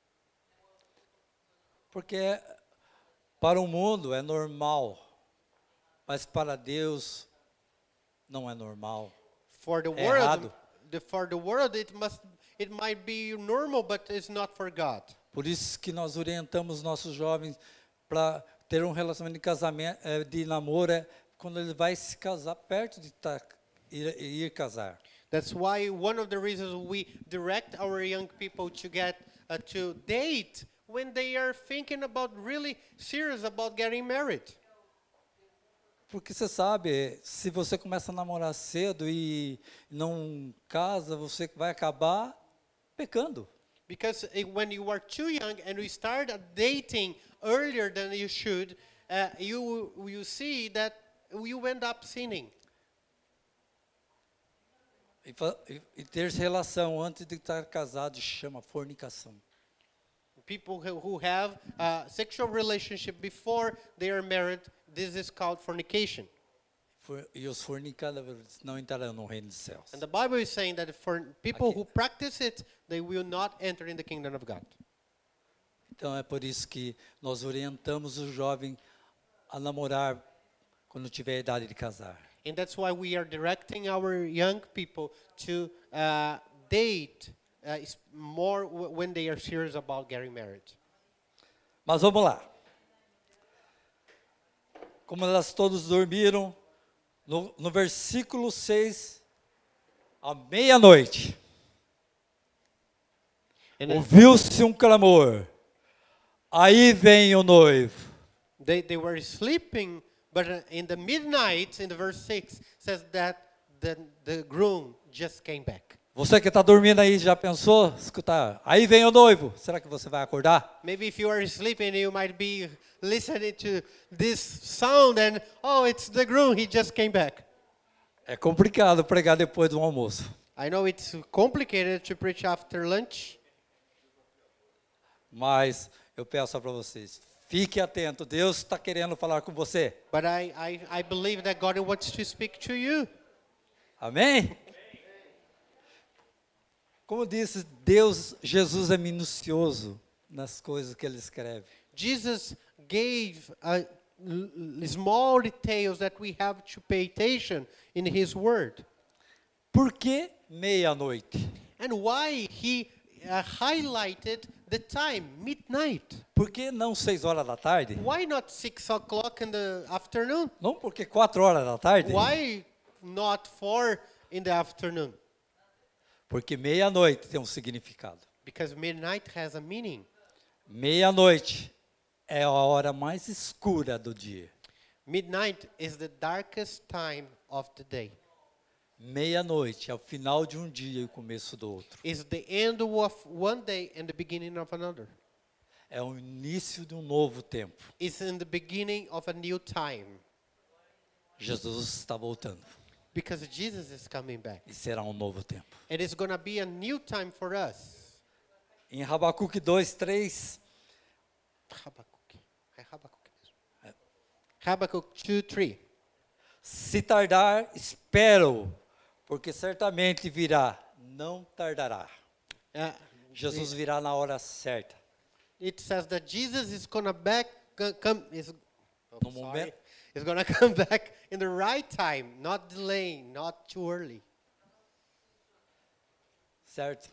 Porque para o mundo é normal, mas para Deus não é normal. For the world, for the world it might be normal, but it's not for God. Por isso que nós orientamos nossos jovens para ter um relacionamento de casamento, de namoro, quando ele vai se casar, perto de ir casar. That's why one of the reasons we direct our young people to get to date when they are thinking about really serious about getting married. Porque você sabe, se você começa a namorar cedo e não casa, você vai acabar pecando. Because when you are too young and you start dating earlier than you should, you see that you end up sinning. E ter relação antes de estar casado chama fornicação. People who have a sexual relationship before they are married, this is called fornication. E os fornicadores não entrarão no reino dos céus. And the Bible is saying that for people who practice it, they will not enter in the kingdom of God. Então é por isso que nós orientamos o jovem a namorar quando tiver a idade de casar. And that's why we are directing our young people to date more when they are serious about getting married. Mas vamos lá. Como elas todos dormiram, no versículo 6, à meia-noite. And then Ouviu-se um clamor. Aí vem o noivo. they were sleeping, but in the midnight, in the verse 6, says that the groom just came back. Você que está dormindo aí, já pensou? Escutar. Aí vem o noivo. Será que você vai acordar? Maybe if you are sleeping, you might be listening to this sound and, oh, it's the groom, he just came back. É complicado pregar depois do almoço. I know it's complicated to preach after lunch, Mas eu peço para vocês, fique atento. Deus está querendo falar com você. but I believe that God wants to speak to you. Amém? Como disse, Jesus é minucioso nas coisas que ele escreve. Jesus gave small details that we have to pay attention in his word. Por que meia-noite? And why he highlighted the time, midnight. Por que não 6 horas da tarde? Why not 6 o'clock in the afternoon? Não porque 4 horas da tarde? Why not 4 in the afternoon? Porque meia-noite tem um significado. Because midnight has a meaning. Meia-noite é a hora mais escura do dia. Midnight is the darkest time of the day. Meia-noite é o final de um dia e o começo do outro. It's the end of one day and the beginning of another. É o início de um novo tempo. It's in the beginning of a new time. Jesus está voltando Because Jesus is coming back. e será um novo tempo. And it's going to be a new time for us. Em Habacuque 2:3, Habakkuk. É Habakkuk mesmo. Habakkuk 2:3. se tardar, espero, porque certamente virá, não tardará. Jesus virá na hora certa. It says that Jesus is going to No momento. Is going to come back in the right time, not delaying, not too early. Certo?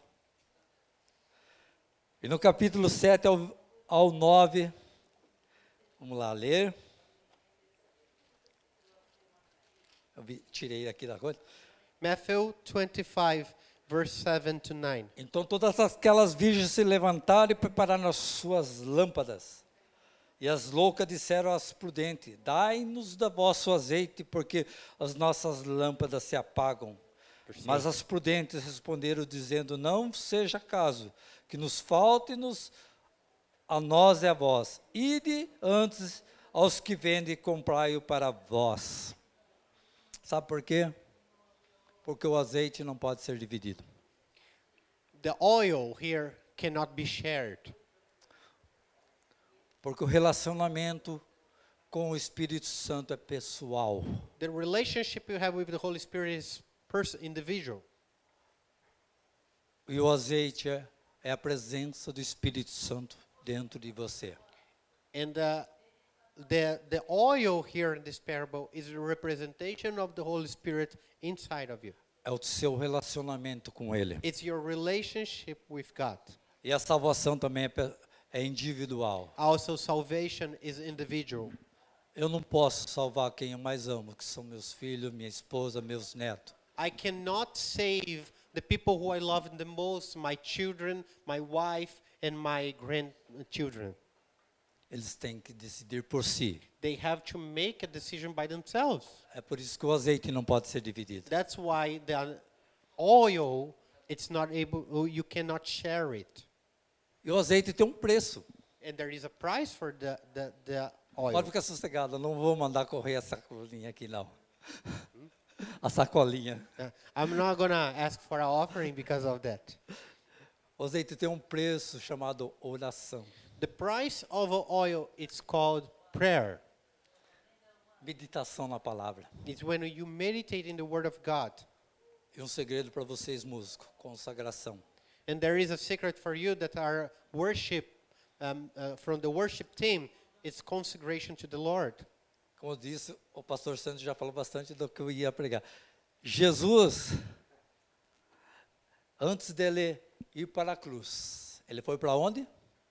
E no capítulo 7 ao 9, vamos lá ler. Tirei aqui da coisa. Matthew 25, verse 7 to 9. Então todas aquelas virgens se levantaram e prepararam as suas lâmpadas. E as loucas disseram às prudentes, dai-nos da vosso azeite, porque as nossas lâmpadas se apagam. Mas as prudentes responderam, dizendo, não seja caso, que nos falte-nos a nós e a vós. Ide antes aos que vendem e comprai-o para vós. Sabe por quê? Porque o azeite não pode ser dividido. The oil here cannot be shared. Porque o relacionamento com o Espírito Santo é pessoal. The relationship you have with the Holy Spirit is individual. E o azeite é a presença do Espírito Santo dentro de você. And the oil here in this parable is a representation of the Holy Spirit inside of you. É o seu relacionamento com Ele. It's your relationship with God. E a salvação também é individual. Also, salvation is individual. Eu não posso salvar quem eu mais amo, que são meus filhos, minha esposa, meus netos. I cannot save the people who I love the most, my children, my wife, and my grandchildren. Eles têm que decidir por si. They have to make a decision by themselves. É por isso que o azeite não pode ser dividido. That's why the oil, it's not able, you cannot share it. E o azeite tem um preço. And there is a price for the oil. Pode ficar sossegado, eu não vou mandar correr a sacolinha aqui não. A sacolinha. I'm not going to ask for an offering because of that. O azeite tem um preço chamado oração. The price of oil, it's called prayer. Meditação na palavra. It's when you meditate in the Word of God. E um segredo para vocês, músicos, consagração. And there is a secret for you that our worship, from the worship team, it's consecration to the Lord. Como eu disse, o pastor Santos já falou bastante do que eu ia pregar. Jesus, antes dele ir para a cruz, ele foi para onde?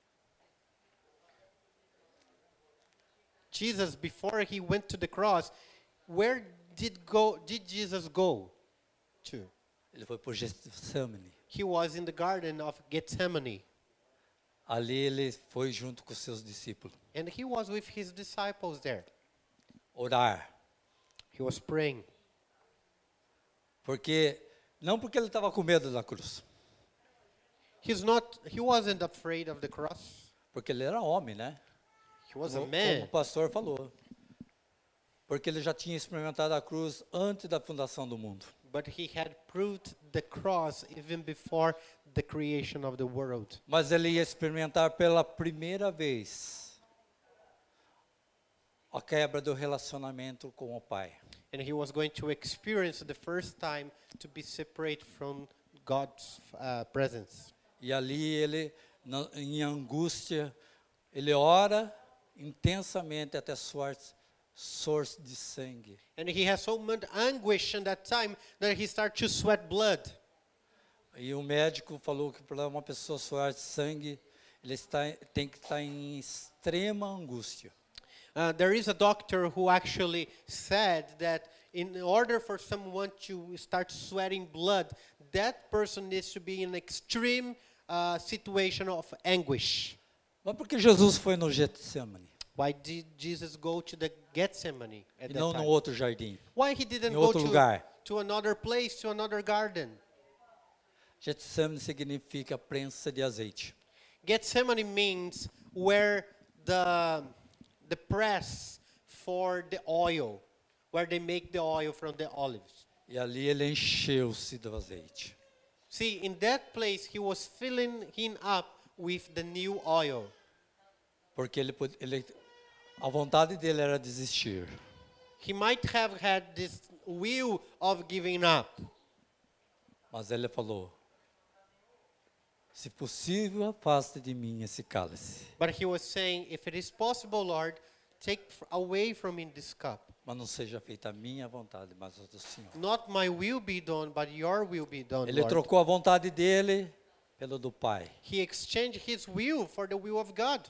Jesus, before he went to the cross, where did Jesus go to? Ele foi para o Getsemane. he was in the Garden of Gethsemane. Ali ele foi junto com seus discípulos And he was with his disciples there. orar. He was praying. Não porque ele estava com medo da cruz, He wasn't afraid of the cross. porque ele era homem, né? He was a Como man. o pastor falou. Porque ele já tinha experimentado a cruz antes da fundação do mundo. But he had proved the cross even before the creation of the world. Mas ele ia experimentar pela primeira vez a quebra do relacionamento com o Pai. And he was going to experience the first time to be separate from God's presence. E ali ele, em angústia, ele ora intensamente até suar de sangue. And he has so much anguish in that time that he started to sweat blood. E o médico falou que para uma pessoa suar de sangue, ele tem que estar em extrema angústia. There is a doctor who actually said that in order for someone to start sweating blood, that person needs to be in an extreme situation of anguish. Mas por que Jesus foi no Getsemane Why did Jesus go to the Gethsemane at e that não time? no outro jardim? Why he didn't Em go outro lugar? to another place, to another garden? Getsemane significa prensa de azeite. Gethsemane means where the press for the oil, where they make the oil from the olives. E ali ele encheu-se do azeite. See, in that place, he was filling him up with the new oil. Porque a vontade dele era desistir. He might have had this will of giving up. Mas ele falou, se possível, afaste de mim esse cálice. But he was saying, if it is possible, Lord, take away from me this cup. Mas não seja feita a minha vontade, mas a do Senhor. Not my will be done, but your will be done, Ele Lord. trocou a vontade dele pelo do Pai. He exchanged his will for the will of God.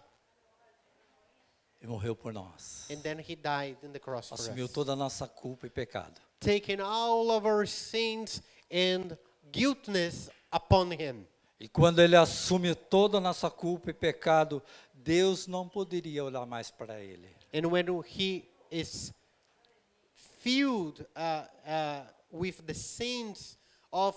E morreu por nós. And then he died in the cross for Assumiu us. toda a nossa culpa e pecado. Taking all of our sins and guiltness upon him. E quando ele assume toda a nossa culpa e pecado, Deus não poderia olhar mais para ele. And when he is filled with the sins of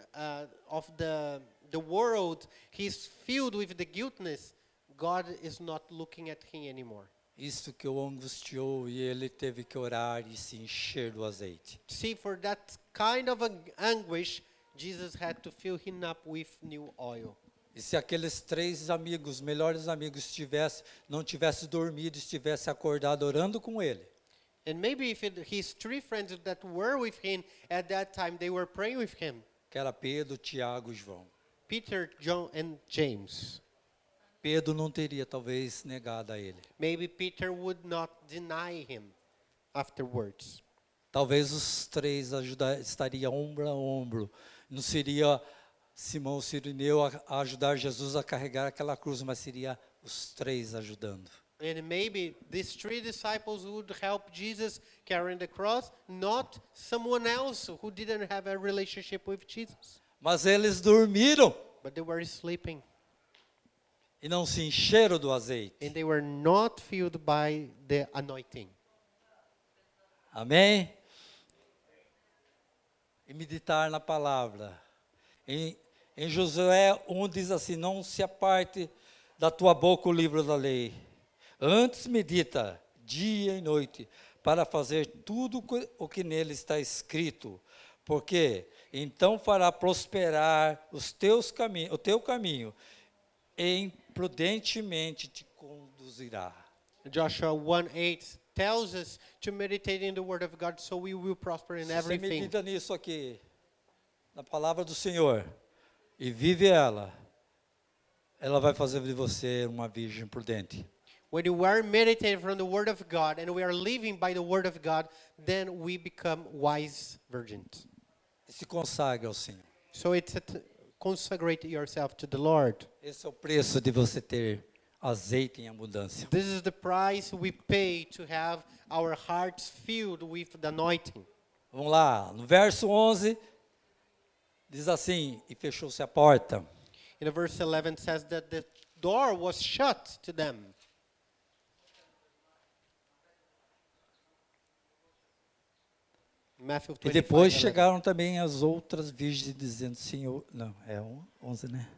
the world, he's filled with the guiltness, God is not looking at him anymore. Isso que o angustiou e ele teve que orar e se encher do azeite. See, for that kind of anguish, Jesus had to fill him up with new oil. E se aqueles 3 amigos, melhores amigos, não tivessem dormido, estivessem acordado orando com ele, And maybe if his 3 friends that were with him at that time, they were praying with him, que era Pedro, Tiago e João. Peter, John, and James. Pedro não teria talvez negado a ele. Maybe Peter would not deny him afterwards. Talvez os 3 estariam ombro a ombro. Não seria Simão Cirineu a ajudar Jesus a carregar aquela cruz, mas seria os 3 ajudando. And maybe these 3 disciples would help Jesus carrying the cross, not someone else who didn't have a relationship with Jesus. Mas eles dormiram But they were sleeping. e não se encheram do azeite. And they were not filled by the anointing. Amém? E meditar na palavra. Em Josué 1 diz assim, não se aparte da tua boca o livro da lei. Antes medita dia e noite para fazer tudo o que nele está escrito. Porque então fará prosperar o teu caminho e prudentemente te conduzirá. Joshua 1:8 tells us to meditate in the word of God so we will prosper in Se você everything. medita nisso aqui, na palavra do Senhor, e vive ela vai fazer de você uma virgem prudente. When you are meditating from the word of God and we are living by the word of God, then we become wise virgins. E se consagre ao Senhor. So it's consecrate yourself to the Lord. Esse é o preço de você ter azeite em abundância. This is the price we pay to have our hearts filled with the anointing. Vamos lá, no verso 11, Diz assim, e fechou-se a porta. In the verse 11 says that the door was shut to them. Matthew E depois 25:11. chegaram também as outras virgens dizendo, Senhor... Não, é 11, né?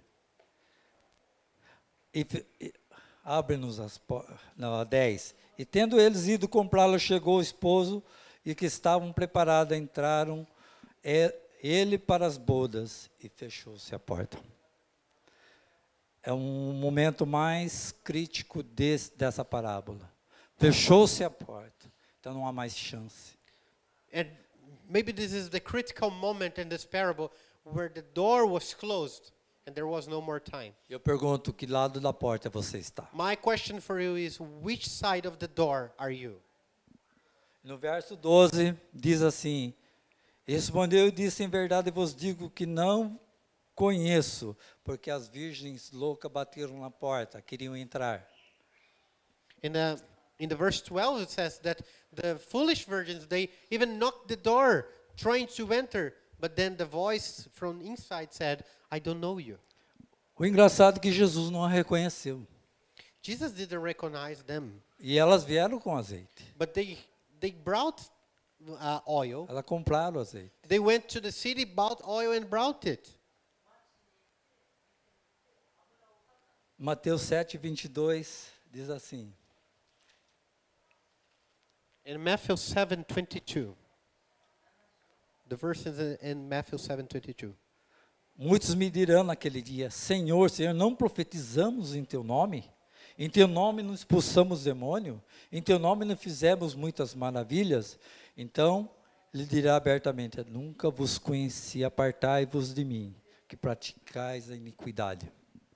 Abre-nos as portas... Não, a 10. E tendo eles ido comprá-lo, chegou o esposo e que estavam preparados, entraram ele para as bodas e fechou-se a porta. É um momento mais crítico dessa parábola. Fechou-se a porta, então não há mais chance. And maybe this is the critical moment in this parable where the door was closed and there was no more time. Eu pergunto, que lado da porta você está? My question for you is, which side of the door are you? No verso 12, diz assim, respondeu e disse, em verdade vos digo que não conheço, porque as virgens loucas bateram na porta, queriam entrar. In the verse 12 it says that the foolish virgins, they even knocked the door trying to enter, but then the voice from inside said, I don't know you. O engraçado é que Jesus não a reconheceu. Jesus didn't recognize them, E elas vieram com azeite. but they brought oil. Elas compraram azeite. They went to the city, bought oil and brought it. Mateus 7:22 diz assim, In Matthew 7:22, the verse is in Matthew 7:22. muitos me dirão naquele dia, Senhor, Senhor, não profetizamos em teu nome? Em teu nome não expulsamos demônio? Em teu nome não fizemos muitas maravilhas? Então, lhe dirá abertamente, nunca vos conheci, apartai-vos de mim, que praticais a iniquidade.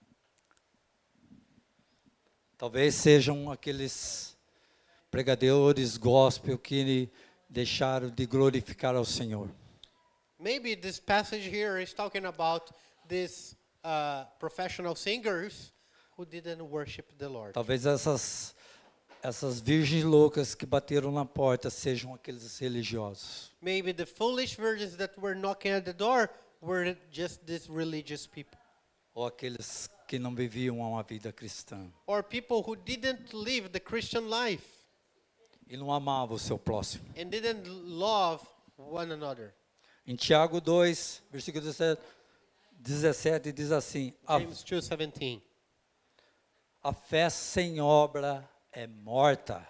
Talvez sejam aqueles pregadores gospel que deixaram de glorificar ao Senhor. Maybe this passage here is talking about these professional singers who didn't worship the Lord. Talvez essas virgens loucas que bateram na porta sejam aqueles religiosos. Maybe the foolish virgins that were knocking at the door were just these religious people. Ou aqueles que não viviam uma vida cristã. Or people who didn't live the Christian life E não amavam o seu próximo. and didn't love one another. Em Tiago 2, versículo 17 diz assim, James 2:17. a fé sem obra é morta.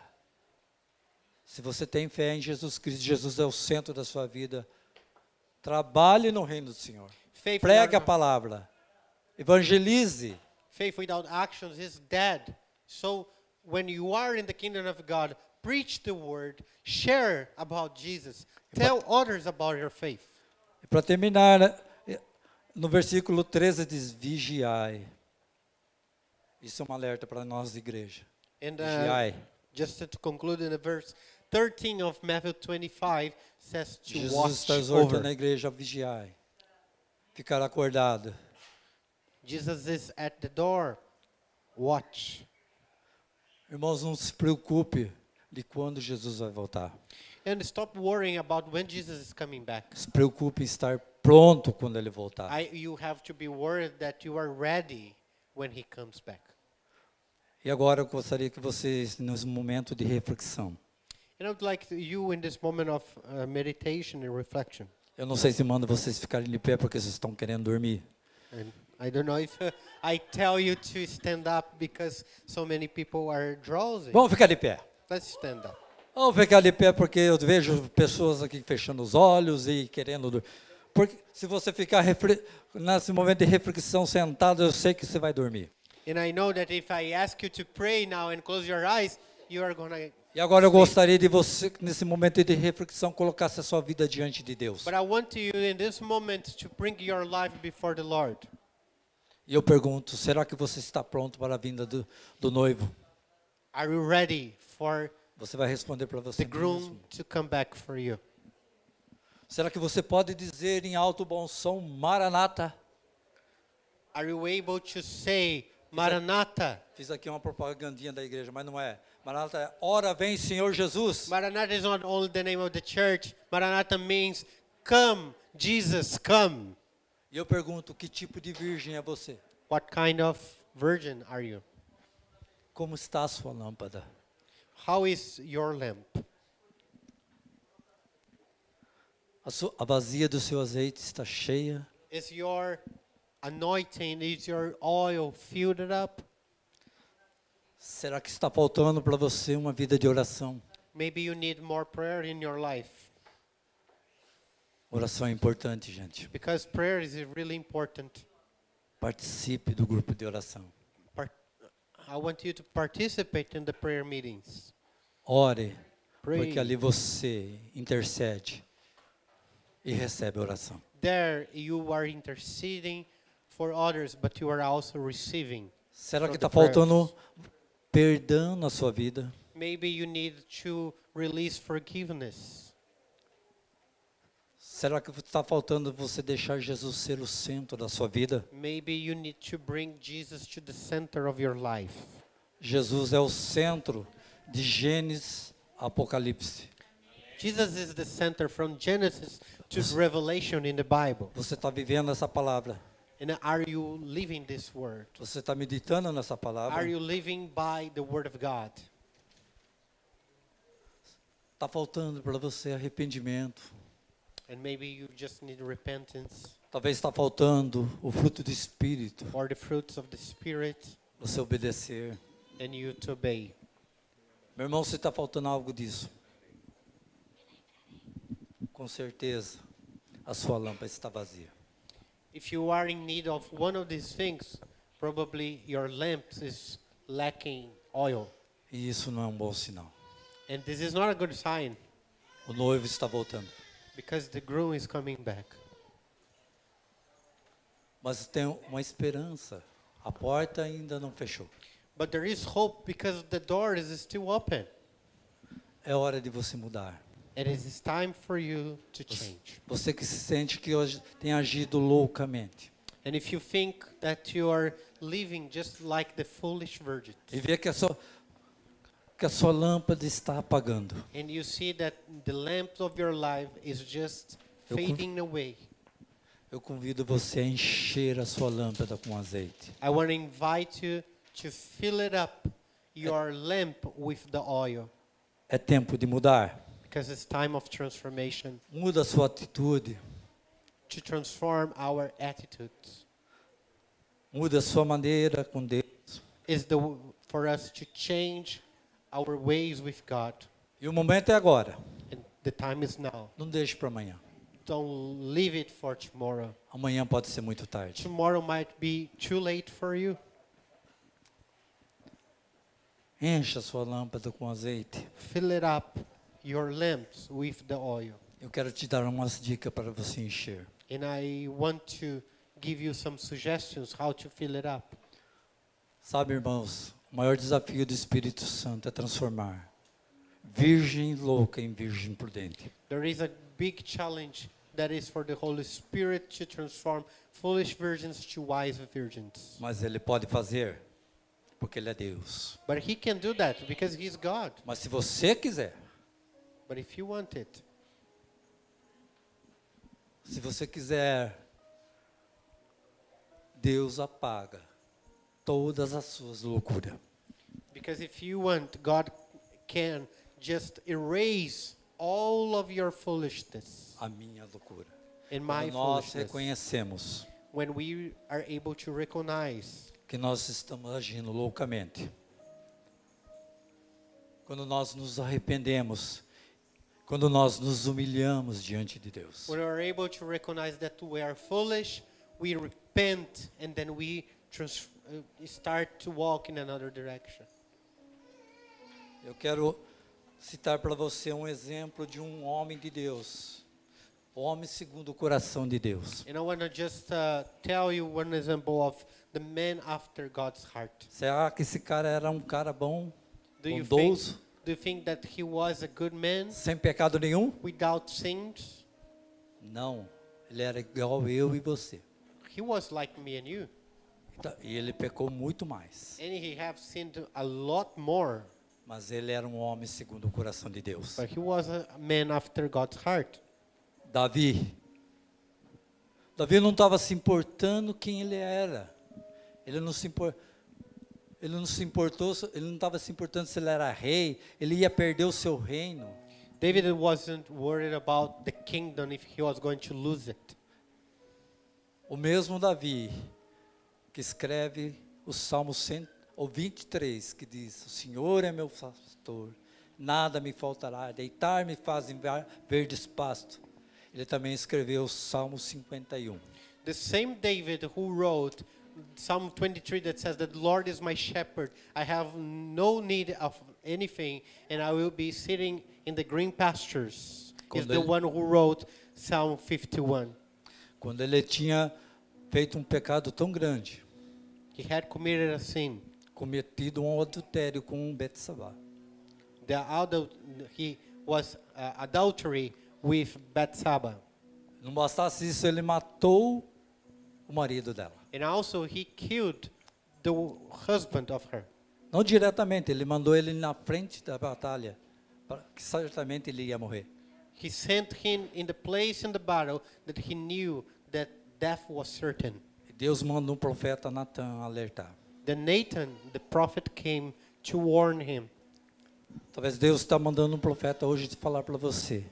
Se você tem fé em Jesus Cristo, Jesus é o centro da sua vida, trabalhe no reino do Senhor. Faith Pregue a without, palavra. Evangelize. faith without actions is dead. So when you are in the kingdom of God, preach the word, share about Jesus, tell others about your faith. E para terminar, no versículo 13 diz, vigiai. Isso é um alerta para nós, igreja. And Vigiai. just to conclude, in the verse 13 of Matthew 25 says to Jesus watch está exortando over. a igreja a vigiar. Ficar acordado. Jesus is at the door. Watch. Irmãos, não se preocupe de quando Jesus vai voltar. And stop worrying about when Jesus is coming back. Se preocupe em estar pronto quando ele voltar. You have to be worried that you are ready when he comes back. E agora eu gostaria que vocês, nesse momento de reflexão, And I would like you in this moment of meditation and reflection. eu não sei se mando vocês ficarem de pé porque vocês estão querendo dormir. And I don't know if I tell you to stand up because so many people are drowsy. Vamos ficar de pé. Let's stand up. Vamos ficar de pé porque eu vejo pessoas aqui fechando os olhos e querendo dormir. Porque se você ficar nesse momento de reflexão sentado, eu sei que você vai dormir. And I know that if I ask you to pray now and close your eyes, you are going to... E agora eu gostaria de você, nesse momento de reflexão, colocasse a sua vida diante de Deus. But I want you in this moment to bring your life before the Lord. E eu pergunto, será que você está pronto para a vinda do noivo? Are you ready for Você vai responder para você the groom mesmo. to come back for you? Será que você pode dizer em alto bom som, Maranata? Are you able to say, Maranatha? Fiz aqui uma propagandinha da igreja, mas não é. Maranata é, ora vem Senhor Jesus. Maranatha is not only the name of the church. Maranatha means, come, Jesus, come. E eu pergunto, que tipo de virgem é você? What kind of virgin are you? Como está a sua lâmpada? How is your lamp? A vazia do seu azeite está cheia? Is your anointing, is your oil filled up? Será que está faltando para você uma vida de oração? Maybe you need more prayer in your life. Oração é importante, gente. Because prayer is really important. Participe do grupo de oração. I want you to participate in the prayer meetings. Ore, Pray. porque ali você intercede e recebe oração. There you are interceding for others, but you are also receiving. Será from que the está faltando prayers. perdão na sua vida? Maybe you need to release forgiveness. Será que está faltando você deixar Jesus ser o centro da sua vida? Maybe you need to bring Jesus to the center of your life. Jesus é o centro de Gênesis a Apocalipse. Jesus is the center from Genesis to Revelation in the Bible. Você está vivendo essa palavra? And are you living this word? Você está meditando nessa palavra? Are you living by the word of God? Está faltando para você arrependimento. And maybe you just need repentance Talvez está faltando o fruto do Espírito. or the fruits of the Spirit Você obedecer. and you to obey. Meu irmão, se está faltando algo disso, com certeza a sua lâmpada está vazia. If you are in need of one of these things, probably your lamp is lacking oil. E isso não é um bom sinal. And this is not a good sign O noivo está voltando. because the groom is coming back. Mas tem uma esperança. A porta ainda não fechou. But there is hope because the door is still open. É hora de você mudar. And it is time for you to change. Você que se sente que hoje tem agido loucamente. And if you think that you are living just like the foolish virgins, E vê que a sua lâmpada está apagando. and you see that the lamp of your life is just Eu conv- fading away, Eu convido você a encher a sua lâmpada com azeite. I want to invite you to fill it up, your lamp with the oil, É tempo de mudar. because it's time of transformation, Muda a sua atitude. to transform our attitudes. Muda a sua maneira com Deus. Is for us to change our ways with God. E o momento é agora. And the time is now. Não deixe para amanhã. Don't leave it for tomorrow. Amanhã pode ser muito tarde. Tomorrow might be too late for you. Encha a sua lâmpada com azeite. Fill it up, your lamps, with the oil. Eu quero te dar umas dicas para você encher. And I want to give you some suggestions how to fill it up. Sabe, irmãos, o maior desafio do Espírito Santo é transformar virgem louca em virgem prudente. There is a big challenge that is for the Holy Spirit to transform foolish virgins to wise virgins. Mas Ele pode fazer, porque Ele é Deus. But He can do that because He's God. Mas se você quiser, But if you want it, se você quiser, Deus apaga todas as suas loucuras. because if you want, God can just erase all of your foolishness A minha loucura. and my Quando nós foolishness. reconhecemos When we are able to recognize que nós estamos agindo loucamente, quando nós nos arrependemos, quando nós nos humilhamos diante de Deus, when we are able to recognize that we are foolish, we repent and then we start to walk in another direction. eu quero citar para você um exemplo de um homem de Deus, homem segundo o coração de Deus. And I want to just tell you one example of the man after God's heart. Será que esse cara era um cara bom, Do you bondoso, think that he was a good man sem pecado nenhum? without sins? Não, ele era igual eu e você. He was like me and you. E ele pecou muito mais. And he have sinned a lot more. Mas ele era um homem segundo o coração de Deus. But he was a man after God's heart. Davi Davi não estava se importando quem ele era. Ele não estava se importando se ele era rei, ele ia perder o seu reino. David wasn't worried about the kingdom if he was going to lose it. O mesmo Davi que escreve o Salmo 23, que diz: o Senhor é meu pastor, nada me faltará, deitar-me faz em verdes pastos. Ele também escreveu o Salmo 51. The same David who wrote Psalm 23 that says that the Lord is my shepherd, I have no need of anything, and I will be sitting in the green pastures, is the one who wrote Psalm 51. Quando ele tinha feito um pecado tão grande, He had committed a sin. cometido um adultério com Betsabá. He was adultery with Bathsheba. Não bastasse isso, ele matou o marido dela. And also he killed the husband of her. Não diretamente, ele mandou ele na frente da batalha, que certamente ele ia morrer. He sent him in the place in the battle that he knew that death was certain. E Deus mandou um profeta Natan alertar. Then Nathan, the prophet, came to warn him. Talvez Deus está mandando um profeta hoje te falar para você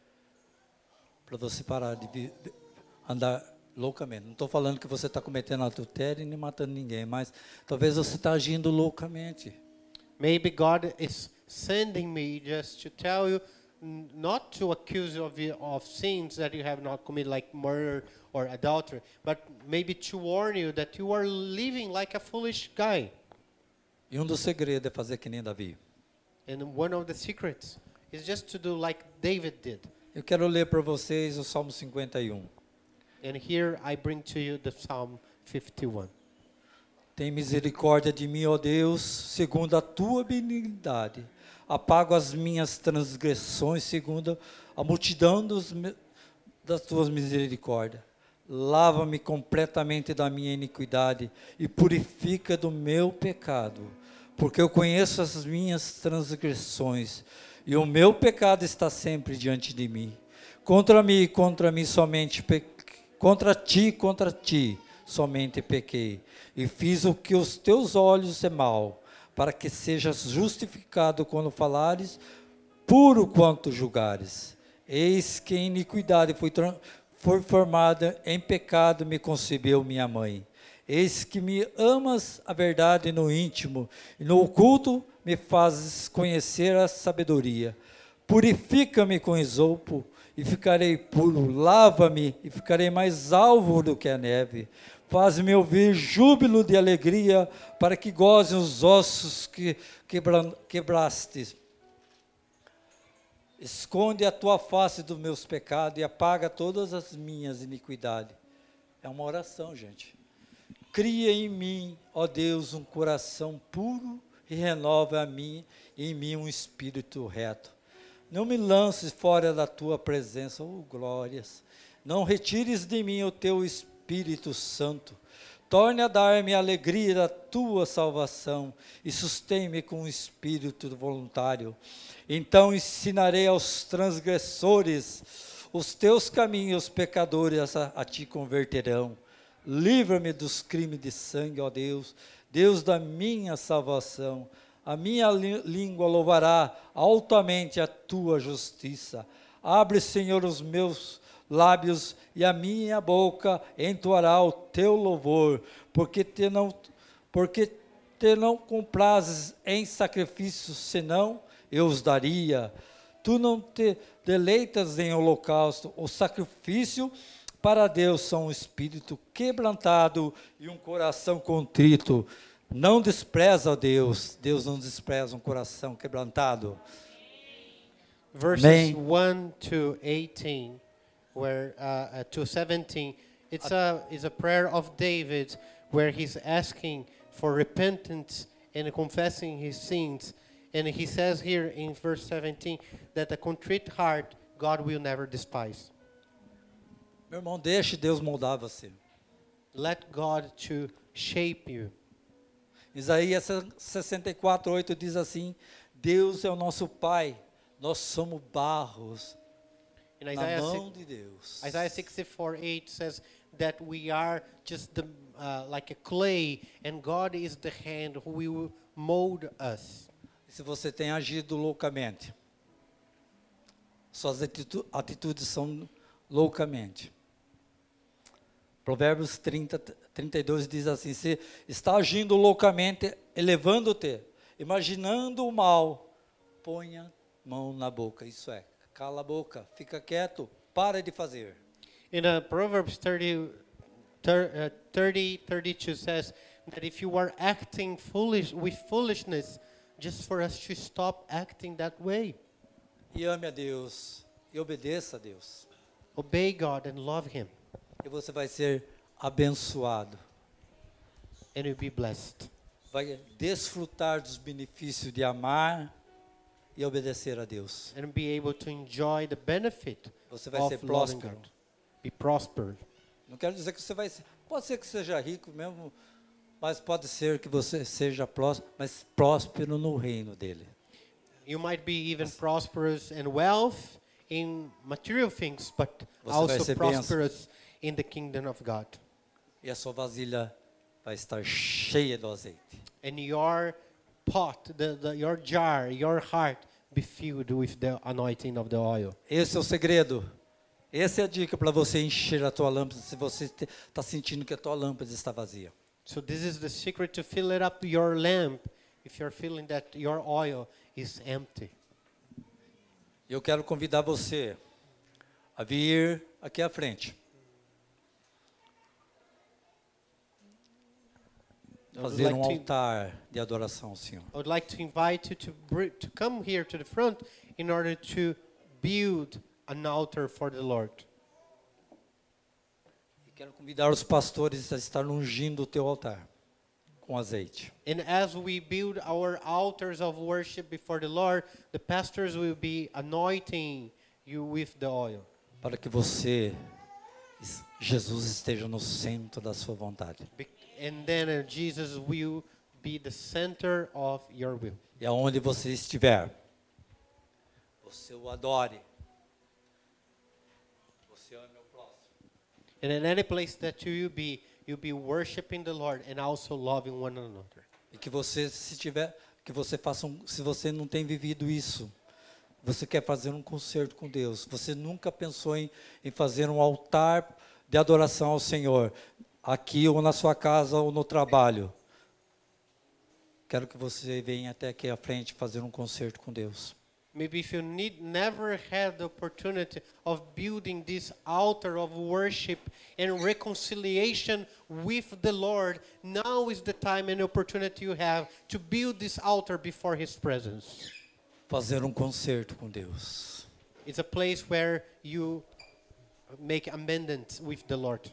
parar de andar loucamente. Não estou falando que você está cometendo adultério nem matando ninguém, mas talvez você está agindo loucamente. Maybe God is sending me just to tell you, not to accuse you of sins that you have not committed, like murder or adultery, but maybe to warn you that you are living like a foolish guy. E um dos segredos é fazer que nem Davi. And one of the secrets is just to do like David did. Eu quero ler para vocês o Salmo 51. And here I bring to you the Psalm 51. Tem misericórdia de mim, ó Deus, segundo a tua benignidade. Apago as minhas transgressões, segundo a multidão das tuas misericórdias. Lava-me completamente da minha iniquidade e purifica do meu pecado, porque eu conheço as minhas transgressões e o meu pecado está sempre diante de mim. Contra mim somente contra ti somente pequei, e fiz o que os teus olhos é mal, para que sejas justificado quando falares, puro quanto julgares. Eis que em iniquidade foi formada, em pecado me concebeu minha mãe. Eis que me amas a verdade no íntimo, e no oculto me fazes conhecer a sabedoria. Purifica-me com esopo, e ficarei puro. Lava-me, e ficarei mais alvo do que a neve. Faz-me ouvir júbilo de alegria, para que gozem os ossos que quebraste. Esconde a tua face dos meus pecados e apaga todas as minhas iniquidades. É uma oração, gente. Cria em mim, ó Deus, um coração puro e renova em mim um espírito reto. Não me lances fora da tua presença, oh glórias. Não retires de mim o teu Espírito Santo. Torne a dar-me a alegria da tua salvação e sustém-me com um espírito voluntário. Então ensinarei aos transgressores os teus caminhos, os pecadores a ti converterão. Livra-me dos crimes de sangue, ó Deus, Deus da minha salvação. A minha língua louvará altamente a tua justiça. Abre, Senhor, os meus lábios e a minha boca entoará o teu louvor, porque te não comprazes em sacrifícios, senão eu os daria. Tu não te deleitas em holocausto. O sacrifício para Deus são um espírito quebrantado e um coração contrito. Não despreza, ó Deus. Deus não despreza um coração quebrantado. Verses Amém. 1 to 18, where to 17, it's a prayer of David, where he's asking for repentance and confessing his sins. And he says here in verse 17 that a contrite heart God will never despise. Meu irmão, deixe Deus moldar você. Let God to shape you. Isaías 64:8 diz assim: Deus é o nosso Pai, nós somos barros In na Isaiah, mão de Deus. Isaiah 64:8 says that we are just like a clay, and God is the hand who will mold us. Se você tem agido loucamente, suas atitudes são loucamente. Provérbios 32 diz assim: se está agindo loucamente, elevando-te, imaginando o mal, ponha mão na boca. Isso é, cala a boca, fica quieto, para de fazer. In Proverbs 32 says that if you are acting with foolishness, just for us to stop acting that way. E ame a Deus, e obedeça a Deus. Obey God and love Him, E você vai ser abençoado. and you'll be blessed. Vai desfrutar dos benefícios de amar e obedecer a Deus. And be able to enjoy the benefit Você vai of ser loving próspero. God. Be prospered. Não quero dizer que você vai ser, pode ser que seja rico mesmo, mas pode ser que você seja próspero, mas próspero no reino dele. You might be even prosperous in wealth, in material things, but Você vai also ser prosperous in the kingdom of God. E a sua vasilha vai estar cheia do azeite. And your pot, your jar, your heart be filled with the anointing of the oil. Esse é o segredo. Essa é a dica para você encher a tua lâmpada se você está sentindo que a tua lâmpada está vazia. So this is the secret to fill it up your lamp if you're feeling that your oil is empty. Eu quero convidar você a vir aqui à frente. Fazer like um to- altar de adoração ao Senhor. I would like to invite you to come here to the front in order to build an altar for the Lord. E quero convidar os pastores a estar ungindo o teu altar com azeite. And as we build our altars of worship before the Lord, the pastors will be anointing you with the oil, Para que você, Jesus, esteja no centro da sua vontade. And then Jesus will be the center of your will. E aonde você estiver, você o adore. Você ame o próximo. And in any place that you will be, you'll be worshiping the Lord and also loving one another. E que você, que você faça se você não tem vivido isso, você quer fazer um concerto com Deus, você nunca pensou em fazer um altar de adoração ao Senhor, aqui ou na sua casa ou no trabalho, quero que você venha até aqui à frente fazer um concerto com Deus. Maybe if you never had the opportunity of building this altar of worship and reconciliation with the Lord, now is the time and opportunity you have to build this altar before His presence. Fazer um concerto com Deus. It's a place where you make amendments with the Lord.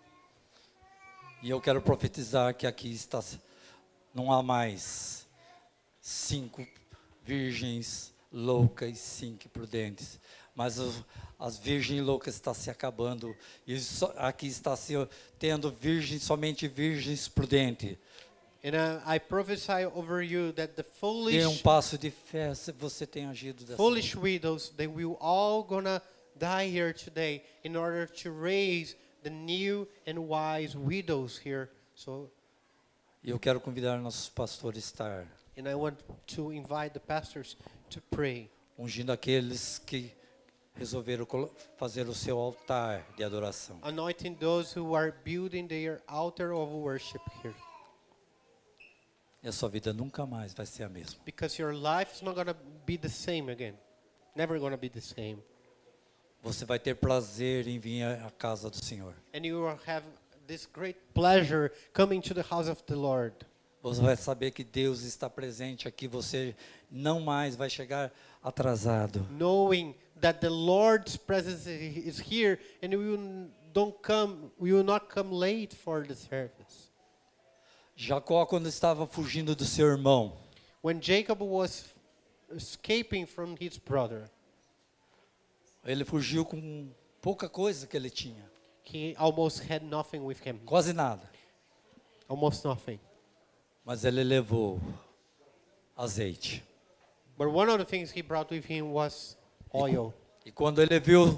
E eu quero profetizar que aqui não há mais 5 virgens loucas e 5 prudentes, mas as virgens loucas estão se acabando e aqui está se tendo somente virgens prudentes. And I prophesy over you that the Dê um passo de fé se você tem agido dessa foolish widows, they will all gonna die here today in order to raise the new and wise widows here. So, E eu quero convidar nossos pastores a estar and I want to invite the pastors to pray, ungindo aqueles que resolveram fazer o seu altar de adoração. anointing those who are building their altar of worship here. E a sua vida nunca mais vai ser a mesma. Because your life is not gonna be the same again. Never gonna be the same. Você vai ter prazer em vir à casa do Senhor. And you will have this great pleasure coming to the house of the Lord. Você vai saber que Deus está presente aqui. Você não mais vai chegar atrasado. Knowing that the Lord's presence is here, and we will not come late for the service. Jacó, quando estava fugindo do seu irmão, When Jacob was escaping from his brother, ele fugiu com pouca coisa que ele tinha. he almost had nothing with him. Quase nada. Almost nothing. Mas ele levou azeite. But one of the things he brought with him was oil. E quando ele viu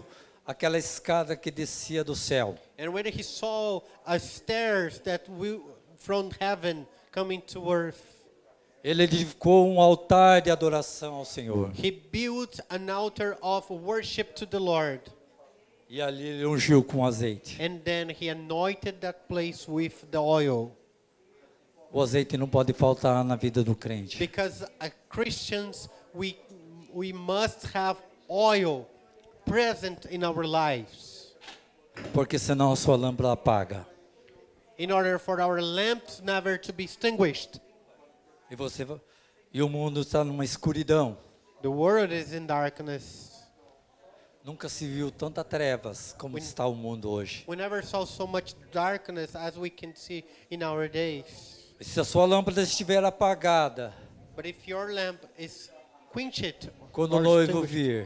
aquela escada que descia do céu. And when he saw stairs that from heaven coming to earth, Ele edificou um altar de adoração ao Senhor. he built an altar of worship to the Lord. E ali ele ungiu com azeite. And then he anointed that place with the oil. O azeite não pode faltar na vida do crente. Because Christians, we must have oil present in our lives. Porque senão a sua lâmpada apaga. In order for our lamps never to be extinguished. E o mundo está numa escuridão. The world is in darkness. Nunca se viu tanta trevas como está o mundo hoje. We never saw so much darkness as we can see in our days. E se a sua lâmpada estiver apagada, But if your lamp is quenched, quando o or noivo extinguished, vir,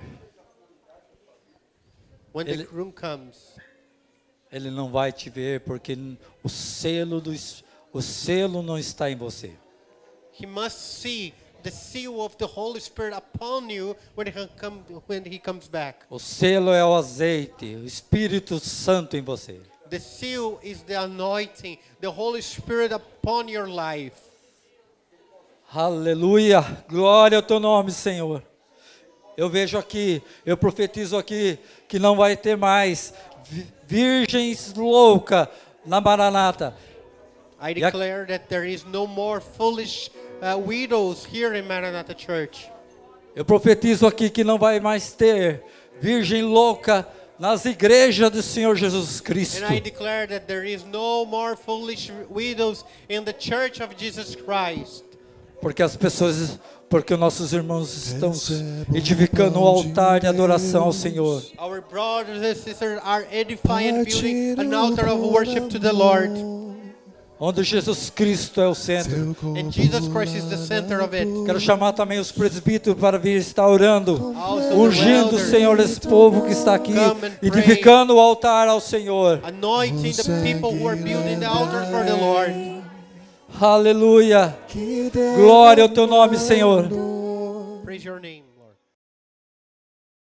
when the groom comes, ele não vai te ver porque o selo não está em você. he must see the seal of the Holy Spirit upon you when he comes back. O selo é o azeite, o Espírito Santo em você. The seal is the anointing, the Holy Spirit upon your life. Aleluia, glória ao teu nome, Senhor. Eu vejo aqui, eu profetizo aqui que não vai ter mais virgens loucas na Maranata. I declare that there is no more foolish widows here in Maranatha Church. Eu profetizo aqui que não vai mais ter virgem louca nas igrejas do Senhor Jesus Cristo. And I declare that there is no more foolish widows in the Church of Jesus Christ. Porque nossos irmãos estão edificando um altar de adoração ao Senhor. Our brothers and sisters are edifying and building an altar of worship to the Lord. Onde Jesus Cristo é o centro. And Jesus Christ is the center of it. Quero chamar também os presbíteros para vir estar orando, Also ungindo, the elders, Senhor, esse povo que está aqui, come and pray. edificando o altar ao Senhor. Anointing the people who are building the altars for the Lord. Aleluia. Glória ao teu nome, Senhor. Praise your name.